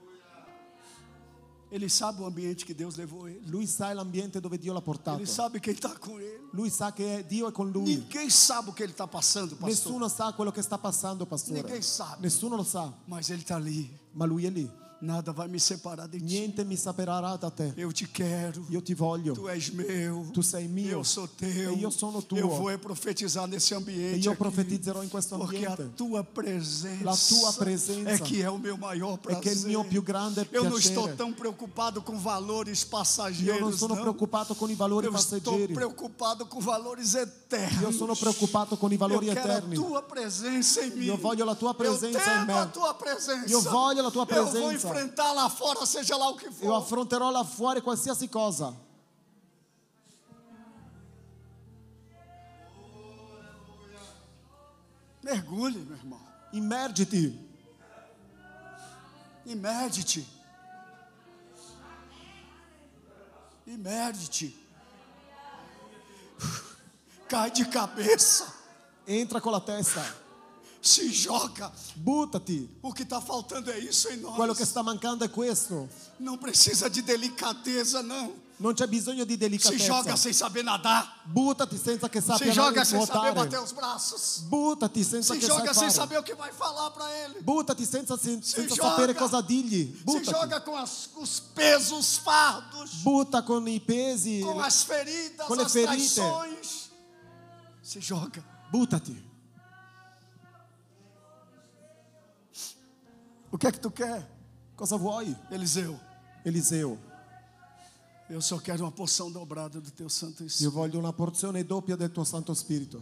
Ele sabe o ambiente que Deus levou ele. Lui sa l'ambiente dove Dio l'ha portato. Ele sabe quem está com ele. Lui sa che Dio è con lui. Ninguém sabe o que ele está passando, pastor. Nessuno sa quello che sta passando, pastore. Ninguém sabe. Nessuno lo sa, Mas ele está ali. ma Lui è lì. Nada vai me separar de ti. Niente mi separerà da te. Eu te quero. Io ti voglio. Tu és meu. Tu sei mio. Eu sou teu. E io sono tuo. Eu vou profetizar nesse E ambiente. io aqui, profetizzerò in questo porque a ambiente. tua presença, La tua presenza é que é o meu maior è prazer. che è il mio più grande Eu não estou piacere. tão preocupado com valores Io passageiros. non sono não. preoccupato con i valori Eu estou passeggeri. preocupado com valores eternos. Io sono preoccupato con i valori Eu quero eterni. a tua presença em mim. Io voglio la tua presenza eu in tenho me. a tua presença. Io voglio la tua Eu vou presenza. enfrentar lá fora, seja lá o que Io for. affronterò là fuori qualsiasi cosa. Mergulhe, meu irmão. Immergiti. Immerge-te. Immerge-te. Cai de cabeça. Entra con la testa. Se joga. Buttati. O que está faltando é isso em nós. Quello che sta mancando è questo. Não precisa de delicadeza, não. Non c'è bisogno di Se delicatezza. joga sem saber nadar. Buttati senza che Se sappia joga sem saber nuotare. bater os braços. Buttati senza Se che joga sai sem fare. saber o que vai falar para ele. Buttati senza joga. sapere cosa dirgli. Se Buttati. joga com os pesos, os fardos, Butta con i pesi. com as feridas, com le as ferite. traições. Se joga. Buttati. O que é que tu quer, Cosa vuoi? Eliseu? Eliseo, Eu só quero uma porção dobrada do teu Santo io Espírito. voglio una porzione doppia del tuo Santo Spirito.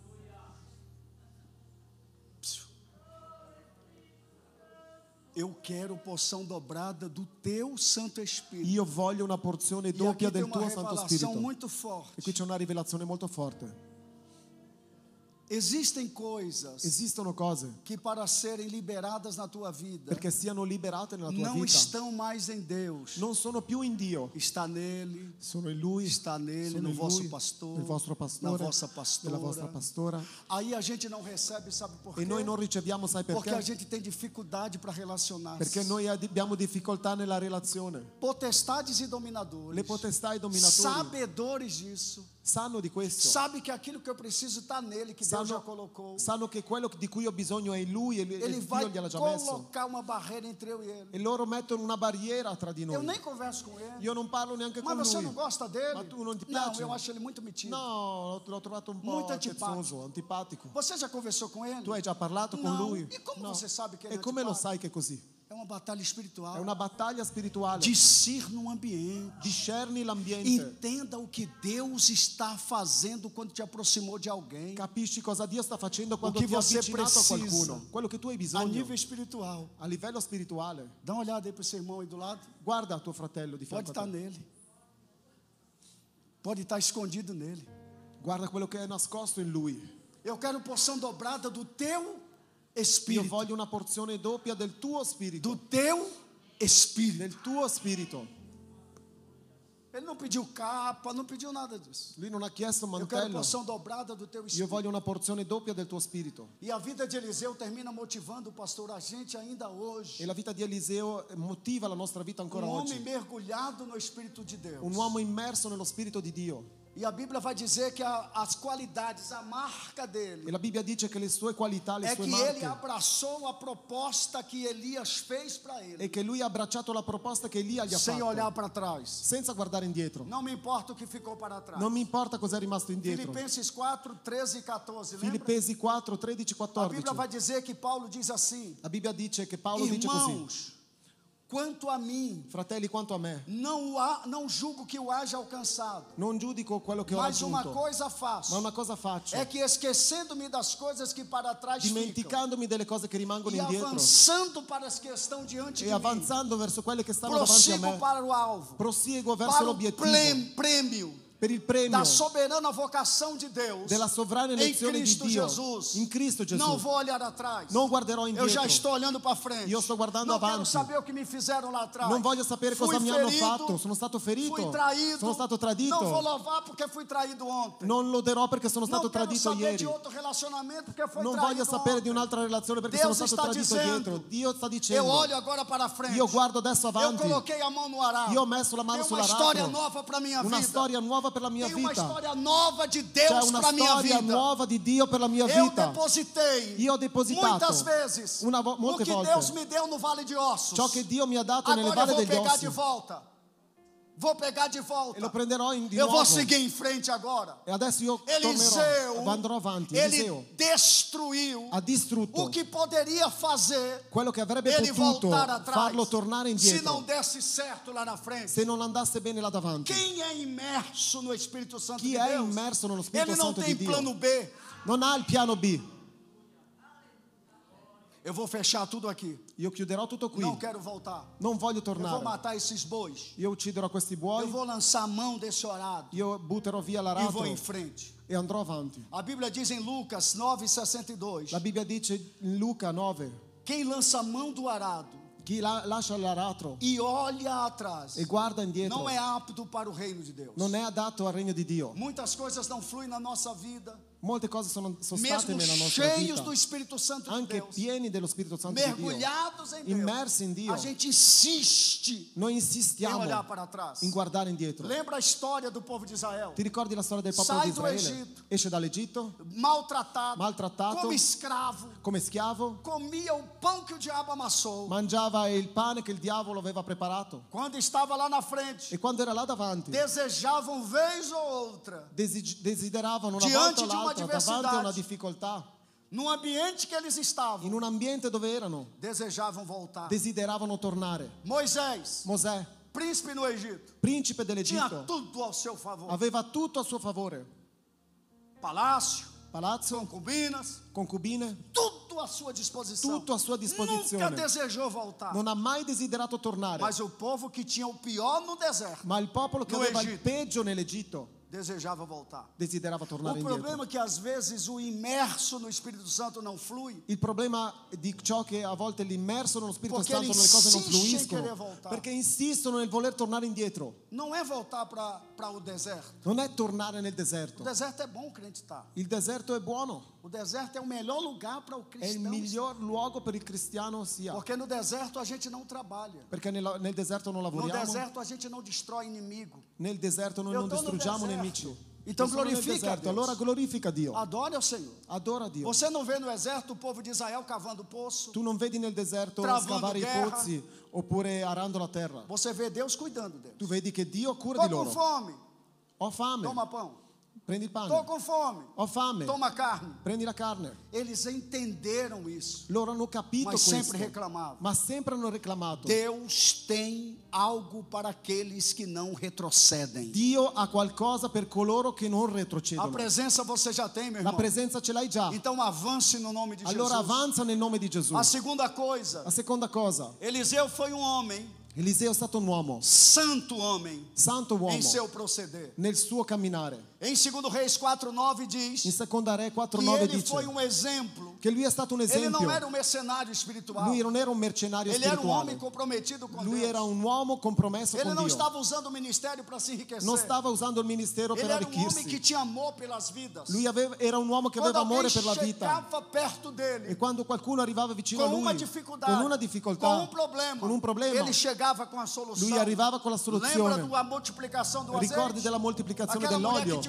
Eu quero porção dobrada do teu Santo Espírito. Io voglio una porzione E aqui doppia tem del uma tuo Santo revelação Spirito. muito E forte. qui c'è una rivelazione molto forte. Existem coisas Esistono cose que para serem liberadas na tua vida perché siano liberate nella tua não vita. estão mais em Deus. Non sono più in Dio, Está nele, sono in Lui, está nele, sono no in vosso Lui, pastor, nel vostro pastore, na vossa nella vostra pastora. pastora. Aí a gente não recebe, sabe por quê? E noi non riceviamo, sai Porque a perché? gente tem dificuldade para relacionar-se. Perché noi abbiamo difficoltà nella relazione. Potestades e dominadores, Le potestà e i dominatori sabedores disso, sanno di questo. sabe que aquilo que eu preciso está nele, que Deus já colocou. Sanno che quello di cui ho bisogno è in Lui e Ele Dio vai gliel'ha già messo. colocar uma barreira entre eu e ele. E loro mettono una barriera tra di Eu noi. nem converso com ele. Io non parlo neanche Mas con você lui. não gosta dele? Ma tu non ti Não, piace? eu acho ele muito metido. No, l'ho trovato un po' Molto antipatico. scherzoso, antipatico. Você já conversou com ele? Tu hai già parlato con Não. lui? E como No. você sabe que ele E é come lo antipatico? sai che è così? É uma batalha espiritual. È una battaglia spirituale. Discirna um ambiente. Discerni l'ambiente. Entenda o que Deus está fazendo quando te aproximou de alguém. Capisci cosa Dio sta facendo quando che ti ha você avvicinato a precisa. qualcuno. Quello che tu hai A bisogno. nível espiritual. A livello spirituale. Dá uma olhada aí para o seu irmão aí do lado. Guarda tuo fratello di Pode fianco a estar te. nele. Pode estar escondido nele. Guarda quello che è nascosto in lui. Eu quero porção dobrada do teu Io espírito. voglio una porzione doppia del tuo spirito. Do teu espírito. Del tuo spirito. Ele não pediu capa, não pediu nada disso. Lui non ha chiesto un Eu quero mantello. porção dobrada do teu Io espírito. voglio una porzione doppia del tuo spirito. E a vida de Eliseu termina motivando o pastor, a gente ainda hoje. E la vita di Eliseo motiva la nostra vita ancora Um homem oggi. mergulhado no Espírito de Deus. Un uomo immerso nello spirito di Dio. E a Bíblia vai dizer que as qualidades, a marca E dele, la Bibbia dice che le sue qualità, le é sue que ele marche, abraçou a proposta que Elias fez para ele, e che lui ha abbracciato la proposta che Elia gli ha sem fatto, olhar para trás. senza guardare indietro. Não me importa o que ficou para trás. Non mi importa cosa è rimasto indietro. Filipenses 4, 13 e 14, lembra? Filippesi 4, 13, A Bíblia 14. vai dizer que Paulo diz assim: La Bibbia dice che Paolo dice così: irmãos, quanto a mim, fratelli, quanto a me, não julgo que o haja alcançado, non giudico quello che ho mas uma raggiunto, coisa faço, ma una cosa faccio, é que esquecendo-me das coisas que para trás ficam, dimenticandomi delle cose che rimangono e indietro avançando para as que estão diante e de mim, avanzando verso quelle che stanno davanti a prossigo me, para o alvo, proseguo verso para o l'obiettivo, prêmio per il premio da soberana vocação de Deus della sovrana em elezione di Cristo Dio Jesus. in Cristo Gesù. Não vou olhar atrás. Non guarderò Eu indietro. já estou olhando para frente. Io sto guardando Não quero avanti. saber o que me fizeram lá atrás. Non voglio sapere Fui cosa mi hanno ferido, fatto. Sono stato ferito. Fui traído. Sono stato tradito. Não vou louvar porque fui traído ontem. Non loderò perché sono Não stato quero tradito saber ieri. de outro relacionamento porque foi Non traído voglio sapere ontem. di un'altra relazione perché Deus sono stato está tradito dizendo, dietro. Dio sta Eu dicendo. olho agora para frente. Io guardo adesso Eu avanti. coloquei a mão no arado. Io ho messo la mano Tem uma sull'aratro. história nova para minha Una vida. storia nuova per la mia Tem uma vita. história nova de C'è Deus una para minha storia vida. nuova di Dio per la mia Eu vita. depositei Io ho depositato muitas vezes o molte que volte Deus me deu no vale de ossos. ciò che Dio mi ha dato nelle Agora eu valle vou degli pegar ossi de volta. Vou pegar de e lo volta. prenderò di Eu nuovo. vou seguir em frente agora. E adesso io Eliseu, andrò avanti. ele Eliseo destruiu ha distrutto o que poderia fazer quello che avrebbe ele potuto voltar atrás farlo tornare se não indietro desse certo lá na frente. se non andasse bene là davanti. Quem é imerso no Espírito Santo Chi de è Deus, immerso nello Spirito ele não Santo tem di Dio plano B. non ha il piano B. Eu vou fechar tudo aqui. Io chiuderò tutto qui. Não quero voltar. Non voglio Eu vou tornare. matar esses bois. Io ucciderò questi Eu buoi. vou lançar a mão desse orado Io butterò via e l'aratro vou em frente. e andrò avanti. A Bíblia diz em Lucas 9,62: La Bibbia dice in Luca 9: quem lança a mão do arado chi lascia l'aratro e olha atrás e guarda indietro não é apto para o reino de Deus. non è adatto al regno di Dio. Muitas coisas não fluem na nossa vida, Molte cose sono state mesmo nella nostra cheios vita, do Espírito Santo de anche Deus, pieni dello Spirito Santo di Dio, mergulhados em Deus. immersi in Dio. A gente insiste Noi em insistiamo olhar para trás. in guardare indietro. Lembra a história do povo de Israel? Ti ricordi la storia del popolo Sai di do Israele? Egitto. Esce dall'Egitto Maltratado, como escravo, come schiavo, comia o pão que o diabo amassou. mangiava il pane che il diavolo aveva preparato Quando estava lá na frente, e quando era là davanti desejavam vez ou outra, desideravano una Diante volta o di una l'altra davanti a una diversidade. difficoltà, no ambiente que eles estavam, in un ambiente dove erano, desejavam voltar. desideravano tornare. Moisés, Mosè, príncipe no Egito, principe tinha dell'Egitto, tudo ao seu favor: aveva tutto a suo favore: palácio, palazzo, concubinas, concubine, tudo à sua disposição. tutto a sua Nunca disposizione. desejou voltar. Non ha mai desiderato tornare, Mas o povo que tinha o pior no deserto ma il popolo che No aveva il Egitto. peggio nell'Egitto desejava voltar. desiderava tornare O indietro. problema é que às vezes o imerso no Espírito Santo não flui. Il problema di ciò che a volte l'immerso nello Spirito Perché Santo le cose non insiste in fluiscono, querer voltare. perché insistono nel voler tornare indietro. Não é voltar para o deserto. Non è tornare nel O deserto. deserto é bom o crente estar. Il deserto è buono, O deserto é o melhor lugar para o è il cristão. miglior luogo per il cristiano sia, Porque no deserto a gente não trabalha. perché nel deserto non No lavoriamo, deserto a gente não destrói inimigo. nel deserto noi Eu non tô no distruggiamo deserto. nemici. Então Io sono nel glorifica a deserto, Deus. allora glorifica Dio, Adore ao Senhor. adora Dio. Você não vê no exército o povo de Israel cavando poço. Tu non vedi nel deserto Travando scavare i guerra. pozzi oppure arando la terra. Você vê Deus cuidando deles. Tu vedi che Dio cura Tô di com loro. fome. Ho fame, Toma pão. prendi il Tô pane. com fome. Ho fame, Toma carne. prendi la carne. Eles entenderam isso, Loro hanno capito mas questo, sempre reclamavam. ma sempre hanno reclamato. Deus tem algo para aqueles que não retrocedem. Dio ha qualcosa per coloro che non A retrocedono. presença você já tem, meu La irmão. presenza ce l'hai già. Então avance no nome de Allora Jesus. avanza nel nome di Gesù. A segunda coisa, La seconda cosa, Eliseu foi um homem, Eliseo è stato un uomo, santo homem, santo uomo, em seu proceder. nel suo camminare. Em 2 Reis 4:9 In diz seconda Re que 4:9 ele dice foi um exemplo. che lui è stato un Ele esempio. não era um mercenário espiritual. Lui non era un mercenario Ele era um homem spirituale. comprometido com Lui Deus. era un uomo compromesso Ele con não Dio. estava usando o ministério para se enriquecer. Non stava usando il ministero per Ele era um homem que arricchirsi. tinha amor pelas vidas. Lui era un uomo che Quando aveva alguém amore per la vita. chegava perto dele E quando qualcuno arrivava vicino a com lui uma dificuldade, con una difficoltà, com un problema, ele chegava com a solução. lui arrivava con la Lembra soluzione. da multiplicação do Ricordi azeite? della moltiplicazione Aquela mulher que dell'olio? tinha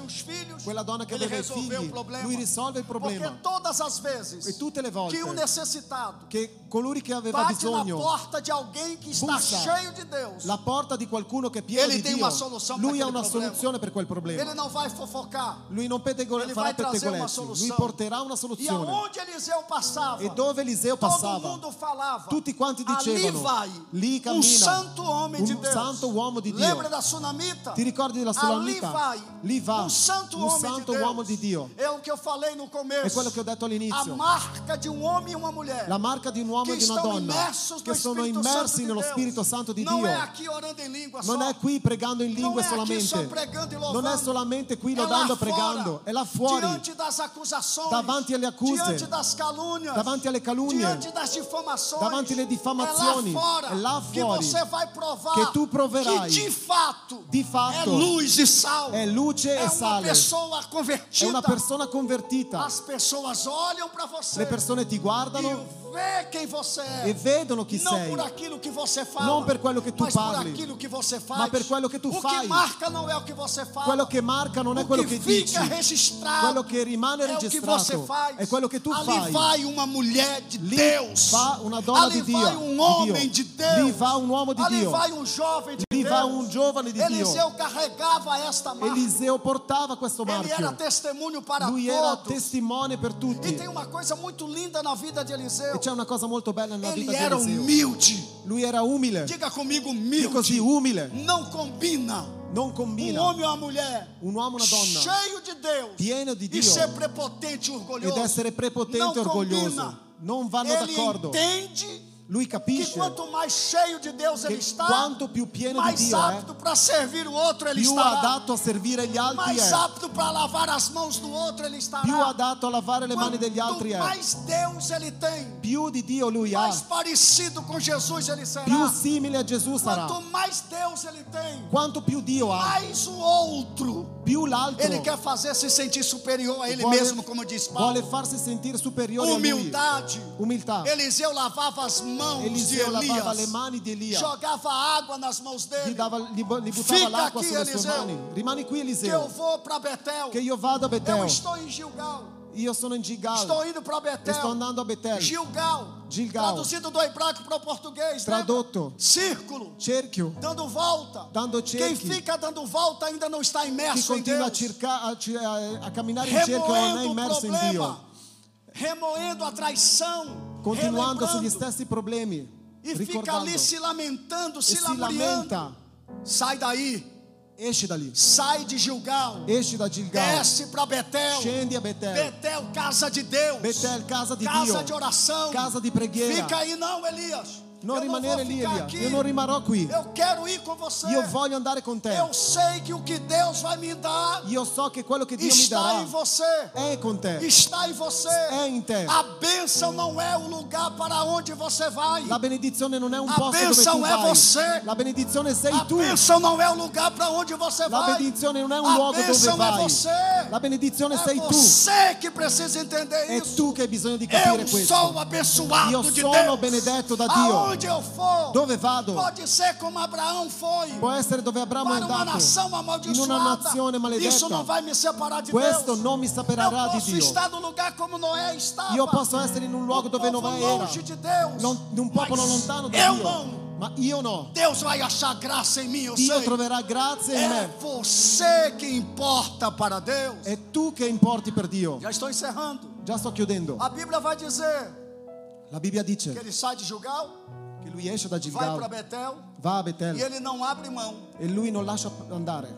os filhos, quella donna che ele aveva i resolveu o figli, problema. lui risolve il Porque problema. todas as vezes E tutte le volte que um necessitado che colui che aveva bate na bisogno porta de alguém que está bussa cheio de Deus, la porta di qualcuno che è pieno Ele di tem Dio, uma solução lui para ha aquele una problema. soluzione per quel ele problema. não vai fofocar. Lui non Ele farà vai trazer uma pettegolezzi, lui solução. porterà una E soluzione. aonde Eliseu passava, E dove Eliseo todo passava, mundo falava, tutti quanti ali dicevano, vai lì um cammina santo homem de un Deus. santo uomo di Dio. Lembra da Sunamita? Ti ricordi della Ali Sulamita? vai Lì va um santo un homem santo de uomo Deus. di Dio. É o que eu falei no começo. È quello che ho detto A all'inizio. marca de um homem e uma mulher La marca di un uomo e que di una estão donna imersos che no sono Espírito immersi Santo de nello Deus. Spirito Santo di Não Dio. é aqui orando em língua só. Non è qui pregando in lingue Não é aqui só solamente. pregando e Non louvando. è solamente qui É lá lodando e fora, pregando. È là fuori, diante das acusações, davanti alle accuse, diante das calúnias, davanti alle calunnie, diante das difamações, davanti alle diffamazioni. é lá È là que fuori você vai provar che tu proverai que di é fatto luz e sal, è luce é e uma sale. pessoa È convertida. una persona convertita. As pessoas olham para você Le persone ti e guardano vê quem você é. e vedono chi Não sei. por aquilo que você fala, Non per quello che tu mas por parli, aquilo que você faz. ma per quello che tu o fai. que marca não é o que você fala. Quello che marca non è o quello que che dici. fica registrado Quello che rimane é o que registrato você faz. è quello che tu Ali fai. vai uma mulher de Lì Deus. va una donna Ali di Dio. vai um homem de Deus. Lì va un uomo di Ali Dio. vai um jovem de Lì Deus. va un giovane di Dio. Eliseu carregava esta marca. Eliseo portava questo Ele era marchio. testemunho para Lui era todos. testimone per E tutti. tem uma coisa muito linda na vida de Eliseu. E c'è una cosa molto bella nella Ele vita di era Eliseo. humilde. Lui era umile. Diga comigo, Dico così, humilde. umile. Não combina Non um combina homem ou uma mulher un uomo e una donna cheio de Deus pieno di e Dio ser prepotente e orgulhoso. ed essere prepotente Não e orgoglioso. combina. Non vanno Ele d'accordo. entende Lui que capisce quanto mais cheio de Deus ele che está, quanto più pieno di mais Dio è, apto para servir o outro ele più estará. adatto a servire gli altri Mais è, apto para lavar as mãos do outro ele estará. più adatto a lavare le mani degli altri Quanto è, mais Deus ele tem, più di Dio lui ha, mais parecido com Jesus ele será. più simile a Gesù sarà. Quanto mais Deus ele tem, Quanto più Dio ha, mais o outro più l'altro ele quer fazer se sentir superior a ele vuole, mesmo, como diz Paulo. vuole farsi sentire superiore a lui. Humildade. Umiltà. Eliseu lavava as mãos Eliseo de lavava le Elias, mani di Elia, jogava água nas mãos gli dele. buttava Fica l'acqua aqui, sulle sue Eliseo. mani. Rimani qui, Que eu Eliseo, vou para Betel. che io vado a Eu Betel. estou em Gilgal. Io sono in Gilgal, Estou indo para Betel. sto andando a Betel. Gilgal. Gilgal. Traduzido do hebraico para o português. Tradotto, Lembra? Círculo. cerchio, Dando volta. dando Quem cerchi. fica dando volta ainda não está Chi imerso em continua Deus. a camminare in cerchio non è Remoendo o immerso in problema. Dio, Remoendo a traição. continuando sugli relembrando, stessi problemi, e fica ricordando, ali se lamentando, e se si lamuriando. lamenta. Sai daí. Esci da lì, Sai de Gilgal. esci da Gilgal, Desce para Betel. scendi a Betel. Betel, casa de Deus. Betel, casa di Casa Dio, de oração. casa di preghiera. Fica aí não, Elias. Non Eu rimanere vou lì, ficar Elia. aqui. Io non rimarrò qui. Eu quero ir com você. Io voglio andare con te. Eu sei que o que Deus vai me dar Io so che quello che Dio mi está darà em você. è con te, Está em você. è in te. A bênção não é o lugar para onde você vai. La benedizione non è un A posto dove bênção tu é vai. você. La benedizione sei A tu. bênção não é o lugar para onde você La vai. benedizione non è un A luogo dove bênção é vai. você. La benedizione É sei tu. você que precisa entender È isso. tu che hai bisogno di capire Eu questo. sou abençoado Io de sono Deus. benedetto da Dio. Aonde eu for, Dove vado? pode ser como Abraão foi. Può essere dove Abramo è Para uma andato, nação in una amaldiçoada. nazione Isso não maledetta. vai me separar de Questo Deus. non mi separerà Eu di posso Dio. estar no lugar como Noé estava. Io posso essere in un luogo dove povo Noè era, longe de Deus. di un popolo Mas lontano da eu Dio. não. Ma io no. Deus vai achar graça em mim, eu Dio sei. troverà grazia in É me. você que importa para Deus. È tu che importi per Dio. Já estou encerrando. Già sto chiudendo. A Bíblia vai dizer La Bibbia que dice ele sai de Gilgal, che lui esce da vai para Gilgal, Betel va a e Betel ele não abre mão e lui non lascia andare.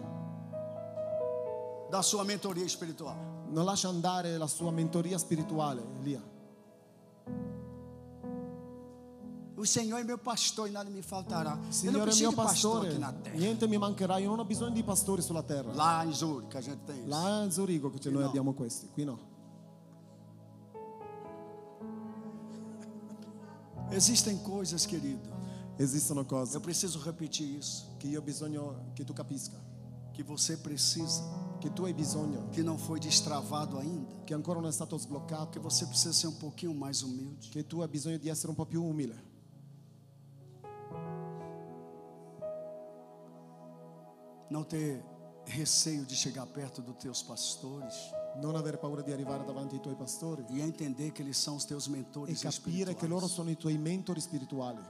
da sua mentoria espiritual. Non lascia andare la sua mentoria spirituale, Elia. O Senhor é meu pastor e nada me faltará. Eu não Signore è il preciso mio de pastor pastore, aqui na terra. niente mi mancherà, io non ho bisogno di pastori sulla terra. Lá em Zurique a gente tem isso. Là a Zurigo che noi no. abbiamo questi, qui no. Existem coisas, querido. Esistono cose Eu preciso repetir isso. che io ho bisogno che tu capisca, Que você precisa, che tu hai bisogno, que não foi destravado ainda. che ancora non è stato Que sbloccato, você precisa ser um pouquinho mais humilde. che tu hai bisogno di essere un po' più umile. Não ter receio de chegar perto dos teus pastores Non avere paura di arrivare davanti ai tuoi pastori e entender que eles são os teus e mentores capire che loro espirituais. sono i tuoi mentori spirituali.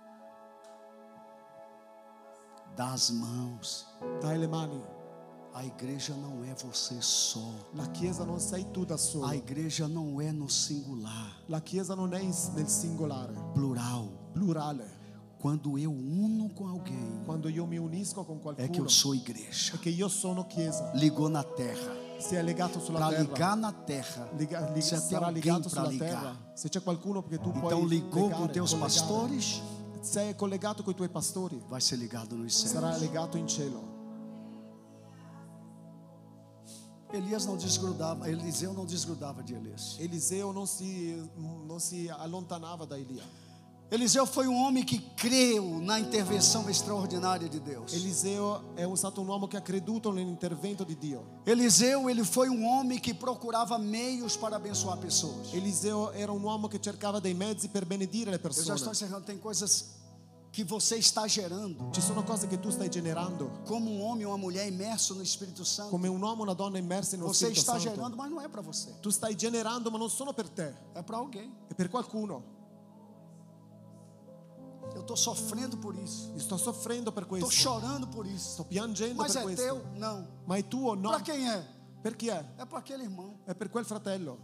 Dá as mãos. Dai le mani. A igreja não é você só. La Chiesa non sei tu da solo. A igreja não é no singular, La Chiesa non è nel singolare, plural. plurale. Quando eu uno com alguém, Quando io mi unisco con é que qualcuno eu sou igreja. è che io sono Chiesa. Ligou na terra. Si è legato sulla Para terra. ligar na terra, se tem Sarà alguém legato para sulla ligar. terra. Se c'è qualcuno che tu puoi Então ligou legare, com teus collegare, pastores, se è collegato con i tuoi pastori, vai ser ligado nos sarà céus. legato in cielo. Eliseu não desgrudava de Elias. Eliseo non si allontanava da Elia. Eliseu foi um homem que creu na intervenção extraordinária de Deus. Eliseo è stato un uomo che ha creduto nell'intervento di Dio. Eliseu, ele foi um homem que procurava meios para abençoar pessoas. Eliseo era un uomo che cercava dei mezzi per benedire le Eu já estou persone. encerrando, tem coisas que você está gerando Ci sono cose che tu stai generando como um homem ou uma mulher imerso no Espírito Santo. come un uomo o una donna immersi nello Você Spirito está Santo. gerando, mas não é para você, Tu stai generando, ma non sono per te, é para alguém. è per qualcuno. Eu estou sofrendo por isso, Io sto soffrendo per estou questo, chorando por isso. sto piangendo Mas per é questo. teu? Não. Ma è tuo? No. Para quem é? Per chi è? É para aquele irmão. È per quel fratello.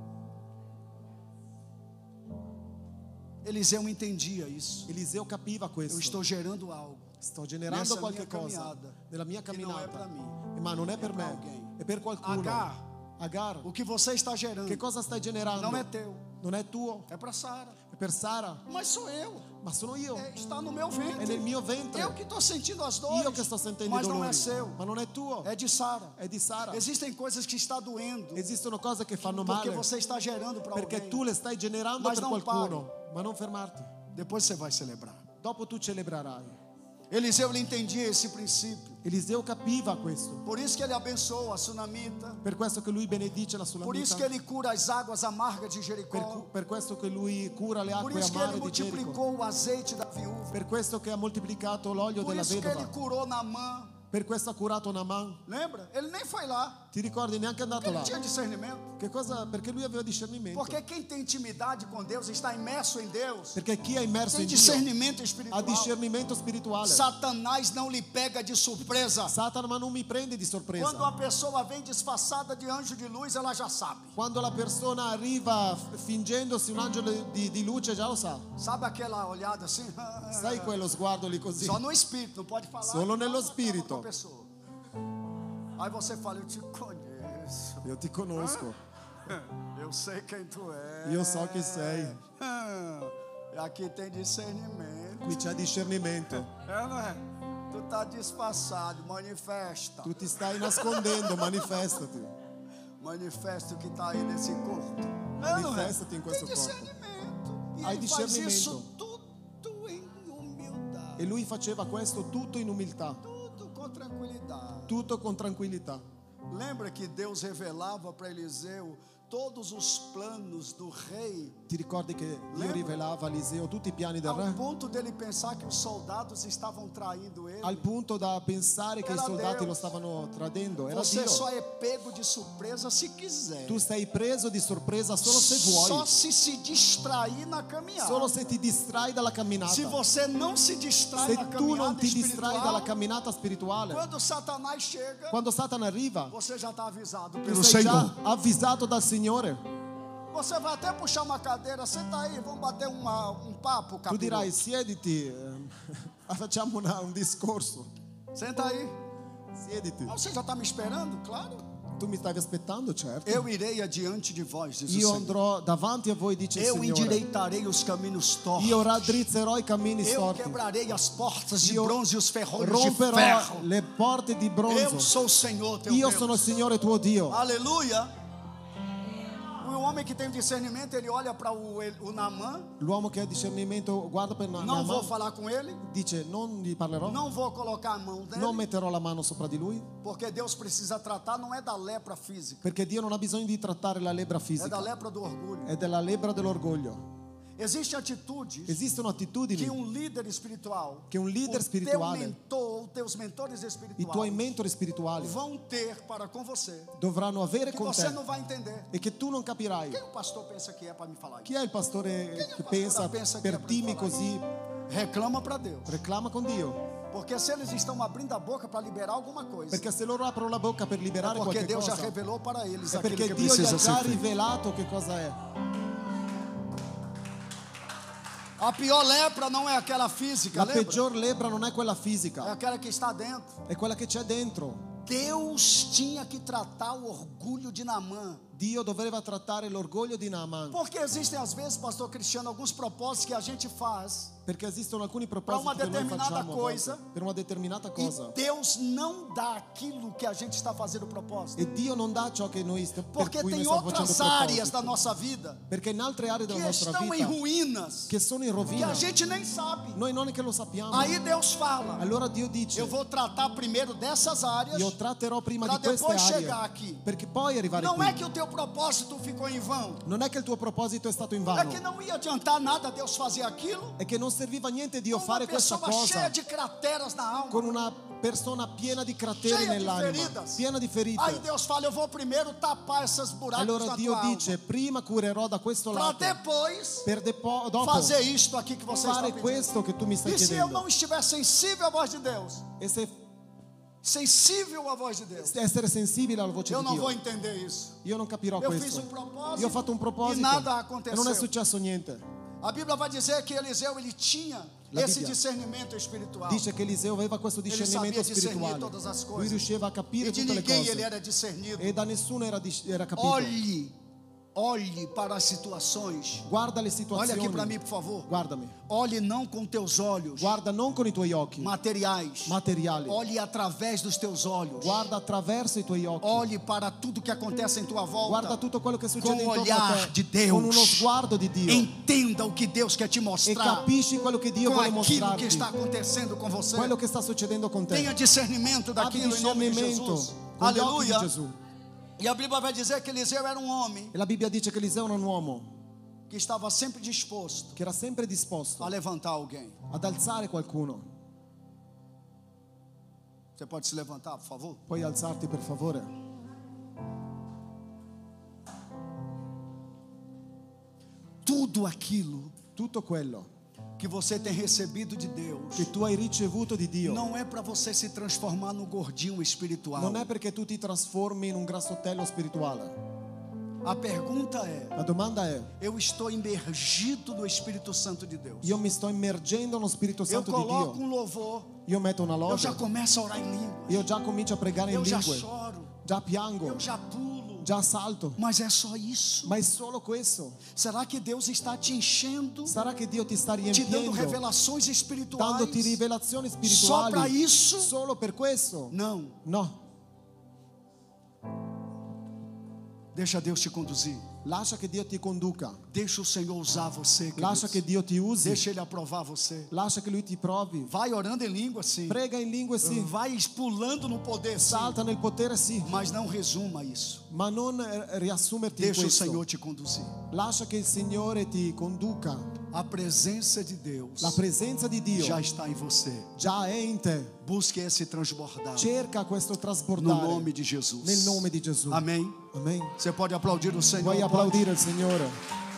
Eliseu entendia isso. Eliseo capiva Eu questo. estou gerando algo. Sto generando Nessa qualche mia cosa caminhada, nella mia che non è camminata, per me, ma non è per per me, alguém. è per qualcuno. Agar, O que você está gerando che cosa stai generando? não é teu, Non è tuo, é para Sara. è per Sara, Mas sou eu. ma sono io. Está no meu È ventre. nel mio ventre. Eu que estou sentindo as dores. Io che sto sentendo i Mas não dolori, é seu. ma non è tuo, É de Sara. è di Sara. Existem coisas que está doendo Esistono cose che fanno porque male você está gerando para perché alguém. tu le stai generando Mas per non qualcuno, ma non fermarti. Depois você vai celebrar. Dopo tu celebrerai. Eliseu ele entendia esse princípio. Eliseo capiva questo, Por isso que ele abençoa a sunamita. per questo che lui benedice la Por isso Sulamita, que ele cura as águas amargas de Jericó. per questo che lui cura le Por acque isso que ele amare di Gerico, multiplicou o azeite da viúva. per questo che ha moltiplicato l'olio Por della isso que ele vedova, curou Naamã. per questo ha curato Naaman. Lembra? Ele nem foi lá. Ti ricordi, neanche è andato Ele là. tinha discernimento. Che cosa? Perché lui aveva discernimento. Porque quem tem intimidade com Deus, está imerso em Deus, Perché chi è immerso tem in Dio discernimento ha espiritual. discernimento spirituale. Satanás não lhe pega de surpresa. Satana, ma non mi prende di Quando sorpresa. uma pessoa vem disfarçada de anjo de luz, ela já sabe. Quando la persona arriva fingendosi un angelo di luce, già lo sa. Sabe aquela olhada assim? Sai quello sguardo lì così? Só no espírito, não pode falar. Solo nello Não, fala spirito. com a pessoa. Aí você fala, eu te conheço. Io ti conosco, Eu sei quem tu é. io so chi sei. Aqui tem discernimento. Qui c'è discernimento. É, não é? Tu tá disfarçado, manifesta. Tu ti stai nascondendo, manifestati. Manifesta o que está aí nesse corpo. É, não é? Manifesta-te em Tem questo corpo. discernimento. E Hai ele faz discernimento. isso tudo em humildade. E lui faceva questo tutto in umiltà, Tudo com tranquilidade. tutto con tranquillità. Lembra que Deus revelava para Eliseu todos os planos do rei, Ti ricordi che Dio Lembra? rivelava a Eliseo tutti i piani del ao re? ponto dele pensar que os soldados estavam traindo ele? Al punto da pensare che i Era soldati Deus. lo stavano tradendo. Era Você Dio. só é pego de surpresa se quiser. Tu sei preso di sorpresa solo se vuoi, Só se distrair na caminhada. solo se ti distrai dalla camminata. Se você não se distrai Se na tu non caminhada ti distrai dalla espiritual, camminata spirituale, quando Satanás chega, quando Satana arriva, você já está avisado tu pelo sei già Senhor. avvisato dal Signore. Você vai até puxar uma cadeira, senta aí, vamos bater um papo, Tu capiroto. dirai siediti, facciamo un discorso. Senta aí. Siediti. Não, você já está me esperando? Claro. Tu mi stavi aspettando, certo. Eu irei adiante de vós, diz o Io Senhor. andrò davanti a voi, dice il Eu Signore. endireitarei os caminhos tortos. Io raddrizzerò i cammini Eu storti. quebrarei as portas de Io bronze e os ferrolhos de romperò ferro. le porte di Eu bronzo. sou o Senhor teu Io Deus. sono il Signore tuo Dio. Aleluia. O homem que tem discernimento, ele olha para o Naamã. L'uomo che ha discernimento guarda per Não Naaman, vou falar com ele. dice non gli parlerò, Não vou colocar a mão dele. non metterò la mano sopra di lui, Porque Deus precisa tratar, não é da lepra física. perché Dio non ha bisogno di trattare la lebbra É da fisica, lepra do orgulho. è della lebbra dell'orgoglio. Existem atitudes Esistono attitudini que líder espiritual, che un leader o spirituale, teu mentor, os teus mentores i tuoi espirituais mentori spirituali vão ter para com você, dovranno avere que con você te não vai entender. e che tu non capirai. Quem o pastor pensa que é para me falar Chi isso? è il pastore che pastora pensa pensa che per è per dirmi parlare? così? Reclama para Deus. Reclama con Dio. Porque se eles estão abrindo a boca para liberar alguma coisa, Perché se loro aprono la bocca per é liberare porque qualche Deus já cosa, revelou para eles è aquilo perché que Dio gli precisa ha ser già feito. rivelato che cosa è. A pior lepra não é aquela física, La lembra? peggior lepra non è quella É fisica, aquela que está dentro. è quella che c'è dentro. Deus tinha que tratar o orgulho de Naamã. Dio doveva trattare l'orgoglio di Naaman, Porque existem às vezes, pastor Cristiano, alguns propósitos que a gente faz perché esistono alcuni uma propositi che noi determinada facciamo a coisa, volte, per una determinata e cosa, Deus não dá aquilo que a gente está fazendo propósito. e Dio non dà ciò che noi per Porque cui noi tem stiamo outras facendo áreas da propositi, nossa vida perché in altre aree que della nostra estão em vita ruínas, che sono in que rovina, a gente nem sabe. noi non è che lo sappiamo. Aí Deus fala: Allora Dio dice: eu vou tratar primeiro dessas áreas, io tratterò prima para di queste depois aree, chegar aqui. perché poi arrivare Não qui. é que o teu propósito ficou em vão, Non è che il tuo proposito è stato in é vano, que não ia adiantar nada Deus fazer aquilo è che non serviva niente Dio com uma fare questa pessoa cheia cosa de crateras na alma, con una persona piena di crateri cheia de nell'anima, feridas. piena di ferite. Aí Deus fala: eu vou primeiro tapar esses buracos Allora na Dio tua dice: alma, prima curerò da questo para lato, depois per dopo fazer isto aqui que você está fare pedindo. questo che tu mi stai E se eu chiedendo. não estiver sensível à voz de Deus, E se sensível à voz de Deus, essere sensibile alla voce eu di não vou Dio, entender isso. io non capirò Eu fiz questo. propósito Io ho fatto un proposito e nada e aconteceu. non è successo niente. A Bíblia vai dizer que Eliseu ele tinha La esse Bibbia discernimento espiritual. Dice che Eliseo aveva questo Ele discernimento sabia discernir spirituale. todas as Lui coisas. riusciva a capire E de tutte le ninguém ele cose era discernido. e da nessuno era capito. Olhe para as situações. Guarda le Olha situazioni. aqui para mim, por favor. Guardami. Olhe não com teus olhos Guarda non con i tuoi occhi materiais. materiali. Olhe através dos teus olhos. Guarda attraverso i tuoi occhi. Olhe para tudo que acontece em tua volta. Guarda tutto quello che succede Com o intorno a olhar te de Deus. con uno sguardo di Dio Entenda o que Deus quer te e mostrar capisci quello che Dio com vuole aquilo que mostrarti, está acontecendo com você. quello che sta succedendo con te. Tenha discernimento Abbi daquilo em nome de discernimento Jesus. con gli occhi di Aleluia. Gesù. E a Bíblia vai dizer que Eliseu era um homem E la Bibbia dice che Eliseo era un uomo que estava sempre disposto che era sempre disposto a levantar alguém. ad alzare qualcuno. Você pode se levantar, por favor? Puoi alzarti per favore? Tudo aquilo Tutto quello que você tem recebido de Deus che tu hai ricevuto di Dio não é para você se transformar no gordinho espiritual. non è perché tu ti trasformi in un grassottello spirituale. A pergunta é: La domanda è: eu estou imergido no Espírito Santo de Deus? io mi sto immergendo nello Spirito Eu Santo di coloco Dio? um louvor, Io metto una eu já lode, começo a orar em língua, io già comincio a pregare in eu já lingue, choro, già piango, eu já pulo. già salto. Mas é só isso? Ma è solo questo? Será que Deus está te enchendo, Sarà che Dio ti sta te dando riempiendo, revelações espirituais dandoti rivelazioni só para spirituali isso? solo per questo? Não. No, Deixa Deus te conduzir. lascia che Dio ti conduca, Deixa o Senhor usar você, lascia che queridos. Dio ti usi, Deixa Ele aprovar você. lascia che Lui ti provi. Vai orando em língua, sim. Prega in lingue sì, Vai pulando no poder, sim. salta nel potere sì, Mas não resuma isso. ma non riassumerti in Deixa o questo. Senhor te conduzir. Lascia che il Signore ti conduca. A presença de Deus La presenza di Dio já está em você. già è in te. Busque esse transbordar Cerca questo no trasportare nome de Jesus. nel nome di Gesù. Amém. Amen. Você pode aplaudir o Senhor. Vuoi Pode? applaudire il Signore?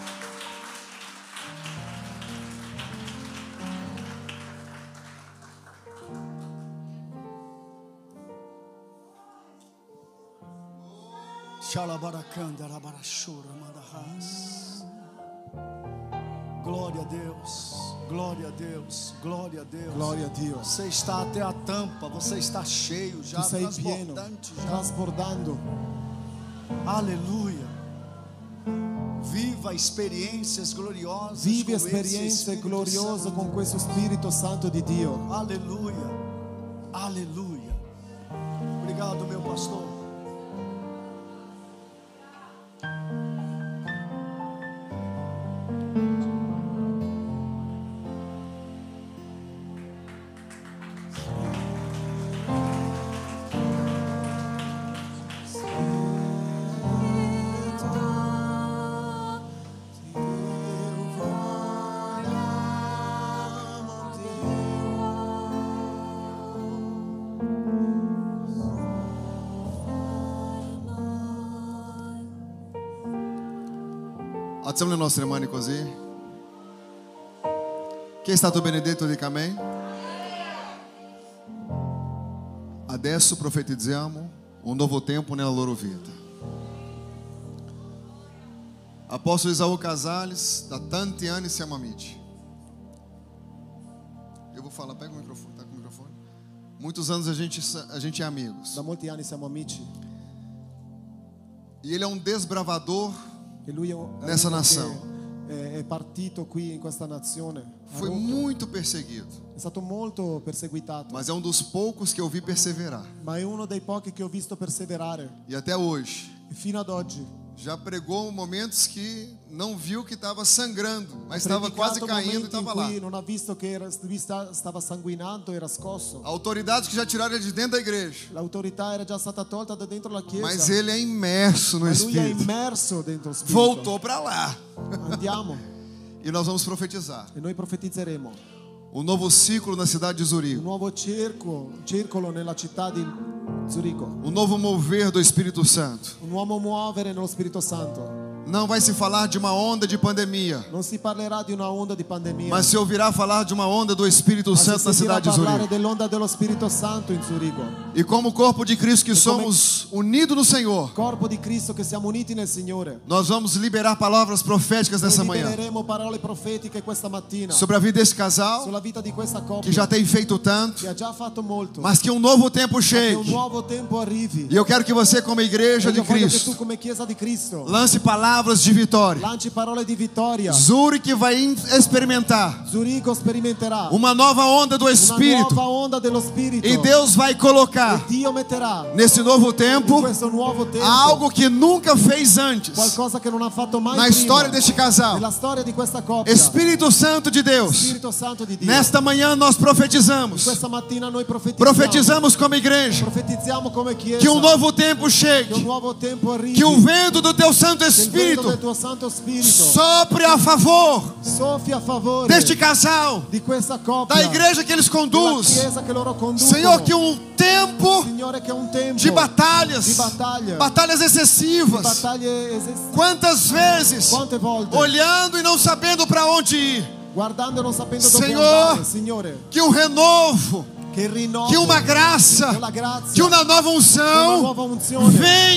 Glória a Deus, glória a Deus, glória a Deus. Gloria a Dio. Você está até a tampa, você está cheio já, Tu sei pieno, transbordante já. trasbordando. Aleluia. Viva experiências gloriosas. Vivi com esse esperienze Espírito gloriose Santo. con questo Spirito Santo di Dio. Aleluia. Aleluia. Obrigado, meu pastor. Eu Facciamo le nostre mani così. Chi è stato benedetto dica amen. Adesso profetizziamo un nuovo tempo nella loro vita. Apóstolo Isaú Casales, da tanti anni siamo amici. Eu vou falar, pega o microfone, tá com o microfone? Muitos anos a gente é amigos. Da molti anni siamo amici. E ele é um desbravador E lui è nessa uno nação. che è partito qui in questa nazione. Foi muito perseguido, È stato molto perseguitato, mas é um dos poucos que eu vi perseverar. ma è uno dei pochi che ho visto perseverare. E até hoje, E fino ad oggi já pregou momentos que não viu que estava sangrando, mas estava quase predicato caindo e momenti in estava lá. cui non ha visto che stava sanguinando, era scosso. Autoridades que já tiraram ele de dentro da igreja, L'autorità era già stata tolta da dentro la chiesa. mas ele é imerso no Ma lui è Espírito. immerso dentro lo spirito. Voltou para lá. Andiamo E nós vamos profetizar e noi profetizzeremo um novo ciclo na cidade de un Zurigo, nuovo circolo nella città di Zurigo, um novo mover do Espírito Santo. un nuovo muovere nello Spirito Santo. Não vai se falar de uma onda de pandemia, Non si parlerà di una onda di pandemia, mas se ouvirá falar de uma onda do Espírito ma si Santo na sentirà cidade de parlare Zurigo. dell'onda dello Spirito Santo in Zurigo. E como corpo de Cristo que somos unidos no Senhor, Corpo di Cristo che siamo uniti nel Signore. nós vamos liberar palavras proféticas nessa Noi manhã libereremo parole profetiche questa mattina sobre a vida desse casal sulla vita di questa que coppia já tem feito tanto, che ha già fatto molto, mas que um novo tempo che un chegue. nuovo tempo arrivi. E eu quero que você, como igreja E de io voglio che tu Cristo, come Chiesa di Cristo lance palavras de vitória. lanci parole di vittoria. Zurigo vai experimentar Zurigo sperimenterà uma nova onda do una Espírito. nuova onda dello Spirito. E Deus vai colocar Dio metterà nesse novo in tempo questo nuovo tempo algo que nunca fez antes qualcosa che non ha fatto mai na prima. história deste casal. Nella storia di questa coppia. Espírito Santo de Deus, Spirito Santo di Dio. nesta manhã nós profetizamos. Questa mattina noi profetizziamo. Profetizamos como igreja Profetizziamo come Chiesa que um novo tempo che un chegue, nuovo tempo arrivi. que o vento do teu Santo che il vento Espírito del tuo Santo Spirito sopre a favor soffia a favore deste casal, di questa coppia, da igreja que eles della conduz. Chiesa che loro conducono. Senhor, que um tempo Signore, che è un tempo de batalhas, di battaglie, batalhas excessivas. battaglie esistenti. Quantas vezes Quante volte olhando e não sabendo para onde ir, guardando e non sapendo dove Senhor, andare, Signore, que um renovo, che il rinnovo, que uma graça, che la grazia, que uma nova che una unção nuova unzione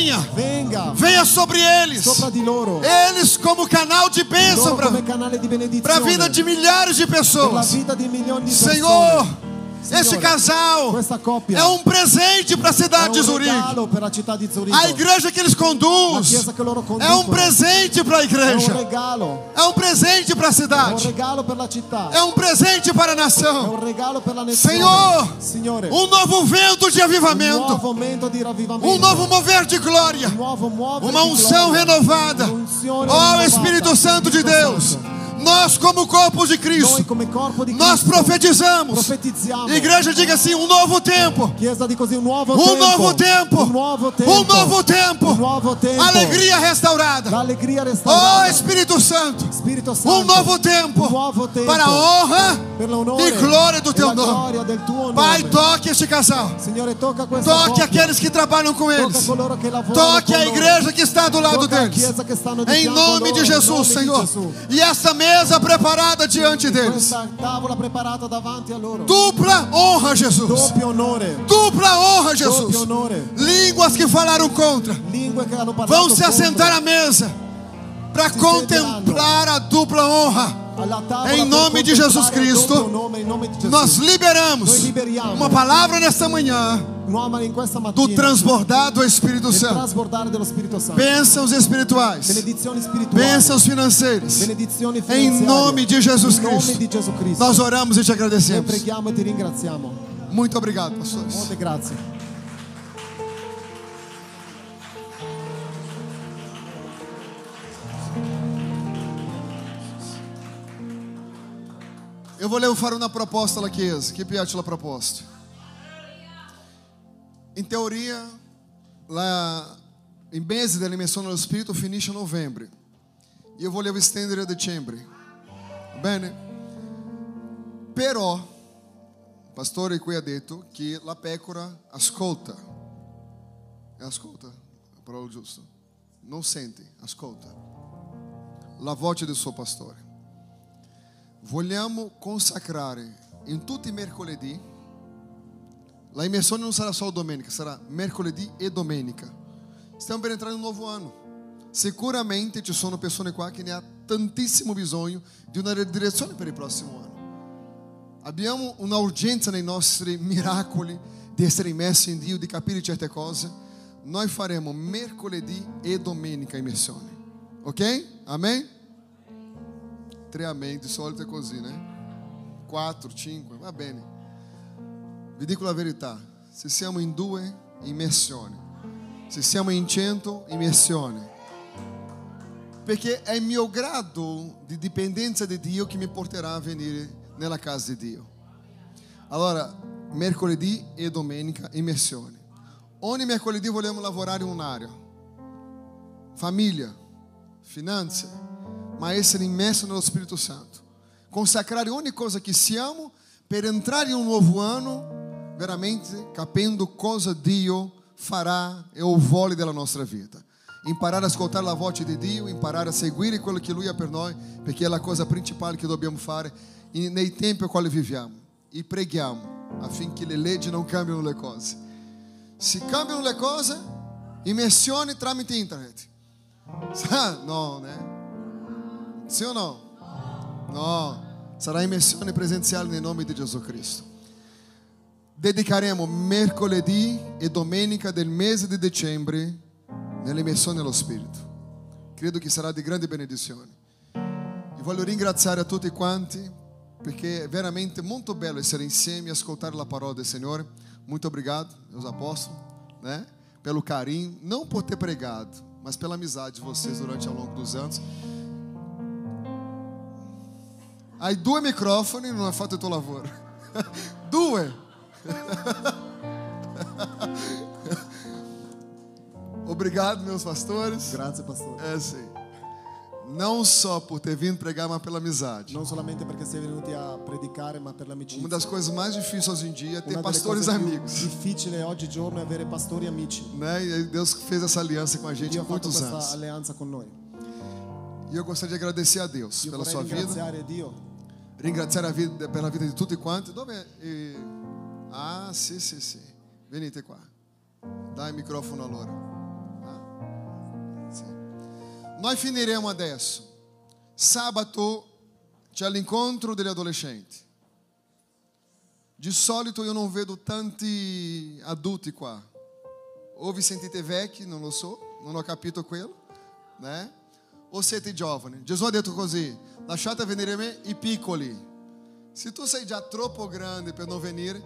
venha venga sobre eles, sopra di loro, eles como canal de bênção loro come canale di benedizione para a vida de milhares de per la pessoas. vita di milioni di Senhor, persone. este Signore, casal questa coppia é um presente para a è cidade de un Zurigo. regalo per la città di Zurigo. A igreja que eles La conduz chiesa che loro é conducono um presente para a è un igreja, regalo, é um presente para a è un cidade, regalo per la città, é um presente para a è nação. un regalo per la nazione. Senhor, Signore, um novo vento de un avivamento, nuovo momento di ravvivamento, um novo mover de glória, un nuovo muovere uma di unção gloria, renovada. un'unzione Ó rinnovata. Espírito Santo de Spirito Deus, Santo. nós como corpo de Noi Cristo, come corpo di nós Cristo profetizamos. profetizziamo. Igreja, diga assim: um novo tempo, Chiesa di così un nuovo um tempo, novo tempo, un nuovo tempo, um novo tempo, un nuovo tempo, alegria restaurada. l'allegria Ó restaurata, Espírito Santo, Spirito Santo, um novo tempo, un nuovo tempo para a honra per l'onore e glória do e teu la nome. gloria del tuo nome. Pai, toque este casal, Signore, tocca questa toque coppia, aqueles que trabalham com tocca eles, coloro che lavorano toque con a loro. igreja que está do lado Tocca a deles, chiesa che stanno di em fianco nome loro, de in Jesus, nome di Senhor. Gesù. E esta mesa preparada diante deles, Questa tavola preparata davanti a loro, dupla honra, Jesus, doppio onore, dupla honra, doppio Jesus. onore, Línguas que falaram contra lingue che hanno parlato vão se contro. assentar à mesa para Si contemplar a dupla honra. Alla tavola Em per nome de contemplare Jesus il Cristo, doppio nome, in nome di Gesù. Nós liberamos Noi liberiamo uma palavra nesta manhã nuova in questa do mattina transbordar do Espírito il Santo. trasbordare dello Spirito Santo, Bênçãos espirituais, benedizioni spirituali, bênçãos financeiras. benedizioni Em finanziarie, nome de Jesus in nome Cristo, di Gesù Cristo. nós oramos e te Noi agradecemos. preghiamo e ti ringraziamo. Muito obrigado, pastores. Molte grazie. Eu volevo fare una proposta alla Chiesa. Chi piace la proposta? In teoria, i mesi della dimensão dello Spirito finisce a novembre. E eu volevo estendere a dicembre. Bene? Però, il pastore qui ha detto che la pecora ascolta. Ascolta? La parola giusta? Non sente, ascolta. la voce del suo pastore. Vogliamo consacrare in tutti i mercoledì. La immersione non sarà solo domenica, sarà mercoledì e domenica. Stiamo per entrare in un nuovo anno. Sicuramente ci sono persone qua che ne hanno tantissimo bisogno di una direzione per il prossimo anno. Abbiamo una urgenza nei nostri miracoli di essere immersi in Dio, di capire certe cose. Noi faremo mercoledì e domenica immersione. Ok? Amen? 3 amen, di solito è così, né? 4, 5, va bene. Vi dico la verità, se siamo in 2, immersione. Se siamo in 100, immersione. Perché è il mio grado di dipendenza di Dio che mi porterà a venire nella casa di Dio. Allora, mercoledì e domenica, immersione. Ogni mercoledì vogliamo lavorare in un'area. Famiglia, finanze, ma essere immerso nello Spirito Santo. Consacrare ogni cosa che siamo per entrare in un nuovo anno veramente capendo cosa Dio farà e o vuole della nostra vita. Imparare a ascoltare la voce di Dio, imparare a seguire quello che Lui ha per noi, perché è la cosa principale che dobbiamo fare nei tempi ai quali viviamo. E preghiamo affinché le leggi non cambino le cose. Se cambiano le cose, immersione tramite internet. No, né? Sì o no? No, sarà immersione presenziale nel nome di Gesù Cristo. Dedicheremo mercoledì e domenica del mese di dicembre nell'immersione nello Spirito. Credo che sarà di grande benedizione. E voglio ringraziare a tutti quanti perché è veramente molto bello essere insieme e ascoltare la parola del Signore. Muito obrigado, meus apóstolos, né? Pelo carinho, não por ter pregado, mas pela amizade de vocês durante ao longo dos anos. Hai 2 microfoni e non hai fatto il tuo lavoro. 2. Obrigado, meus pastores. Grazie, pastore. Sim. Não só por ter vindo pregar, mas pela amizade. Non solamente perché sei venuti a predicare, ma per l'amicizia. Uma das coisas mais difíceis hoje em dia é ter Una delle pastores cose più amigos. difficile oggigiorno è avere pastori amici. Né? E Deus fez essa aliança com a gente Dio há ha fatto muitos questa anos. alleanza con noi. E eu gostaria de agradecer a Deus Io pela vorrei sua vida. ringraziare Dio. Ringraziare a vida, pela vida de tutti quanti. Dove è? Ah, sì. Venite qua. Dai il microfono a loro. Sì. Noi finiremo adesso. Sabato c'è l'incontro degli adolescenti. Di solito io non vedo tanti adulti qua. O vi sentite vecchi, non lo so, non ho capito quello, né? O siete giovani. Gesù ha detto così: lasciate venire a me i piccoli. Se tu sei già troppo grande per non venire,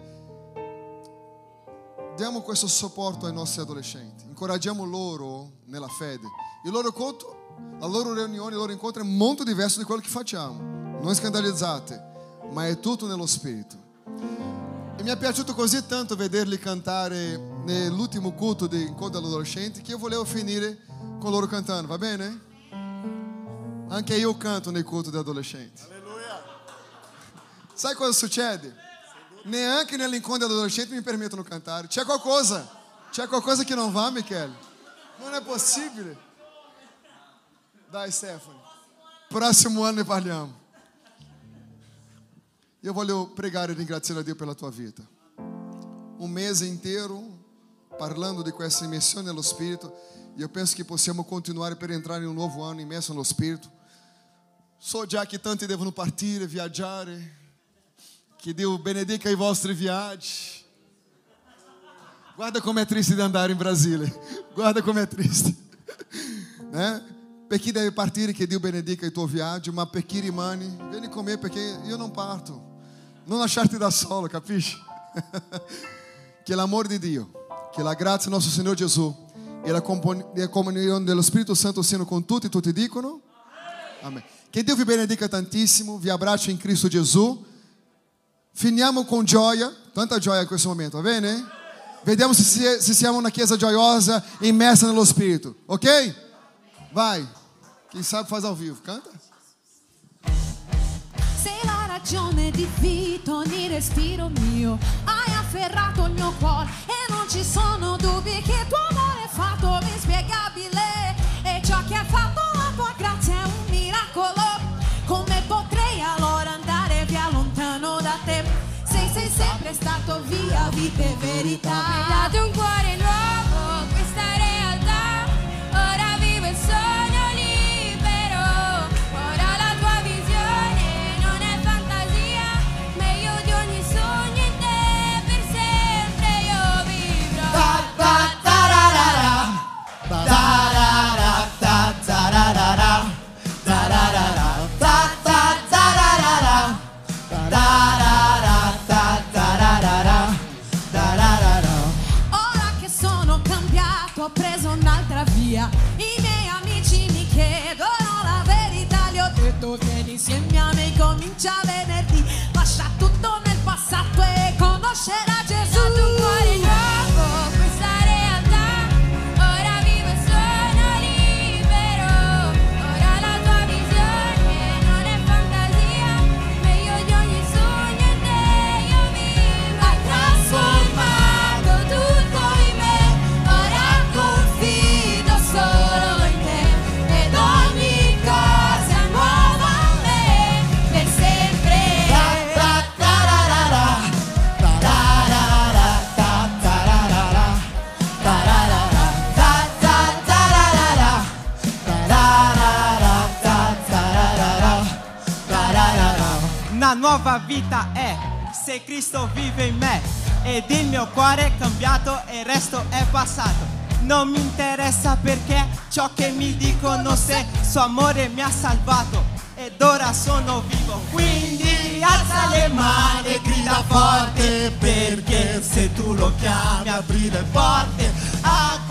diamo questo supporto ai nostri adolescenti. Incoraggiamo loro nella fede. Il loro conto, la loro riunione, il loro incontro è molto diverso di quello che facciamo. Non scandalizzate, ma è tutto nello spirito. E mi è piaciuto così tanto vederli cantare nell'ultimo culto di incontro dell'adolescente che io volevo finire con loro cantando, va bene? Anche io canto nei culti degli adolescenti. Alleluia. Sai cosa succede? Neanche nell'incontro dell'adolescente mi permettono di cantare. C'è qualcosa che non va, Michele? Non è possibile. Dai, Stefano. Prossimo anno ne parliamo. Io voglio pregare e ringraziare a Dio per la tua vita. Un mese intero parlando di questa immersione nello Spirito. Io penso che possiamo continuare per entrare in un nuovo anno immerso nello Spirito. So già che tanti devono partire, viaggiare. Che Dio benedica i vostri viaggi. Guarda com'è triste di andare in Brasile. Guarda com'è triste. Per chi deve partire, che Dio benedica il tuo viaggio, ma per chi rimane, vieni con me perché io non parto. Non lasciarti da solo, capisci? Che l'amore di Dio, che la grazia del nostro Signore Gesù e la comunione dello Spirito Santo siano con tutti dicono? Amen. Che Dio vi benedica tantissimo, vi abbraccio in Cristo Gesù. Finiamo con gioia, tanta gioia in questo momento, va bene? Vediamo se siamo una chiesa gioiosa, immersa nello Spirito, ok? Vai, chi sabe faz ao vivo, canta. Sei la ragione di vita, ogni respiro mio, hai afferrato il mio cuore e non ci sono dubbi che il tuo amore è fatto inspiegabile e ciò che hai fatto la tua grazia è un miracolo. miracolo. Come potrei allora andare via lontano da te? Se sei sempre stato via, vita e verità. Mi hai dato un cuore nuovo, questa realtà. Ora vivo il sogno libero. Ora la tua visione non è fantasia. Meglio di ogni sogno in te, per sempre io vivrò. Ora che sono cambiato, ho preso un'altra via. I miei amici mi chiedono la verità. Gli ho detto vieni insieme a me, comincia venerdì. Lascia tutto nel passato e conoscerà Gesù. Mi hai dato un cuore nuovo, questa realtà. Ora vivo il sogno libero. Ora la tua visione non è fantasia. Meglio di ogni sogno in te io vivo. Hai trasformato tutto in me. Ora confido solo in te. Ed ogni cosa è nuova a me, per sempre. Una nuova vita è se Cristo vive in me ed il mio cuore è cambiato e il resto è passato. Non mi interessa perché ciò che mi dicono, se suo amore mi ha salvato ed ora sono vivo. Quindi alza le mani e grida forte, perché se tu lo chiami apri le porte.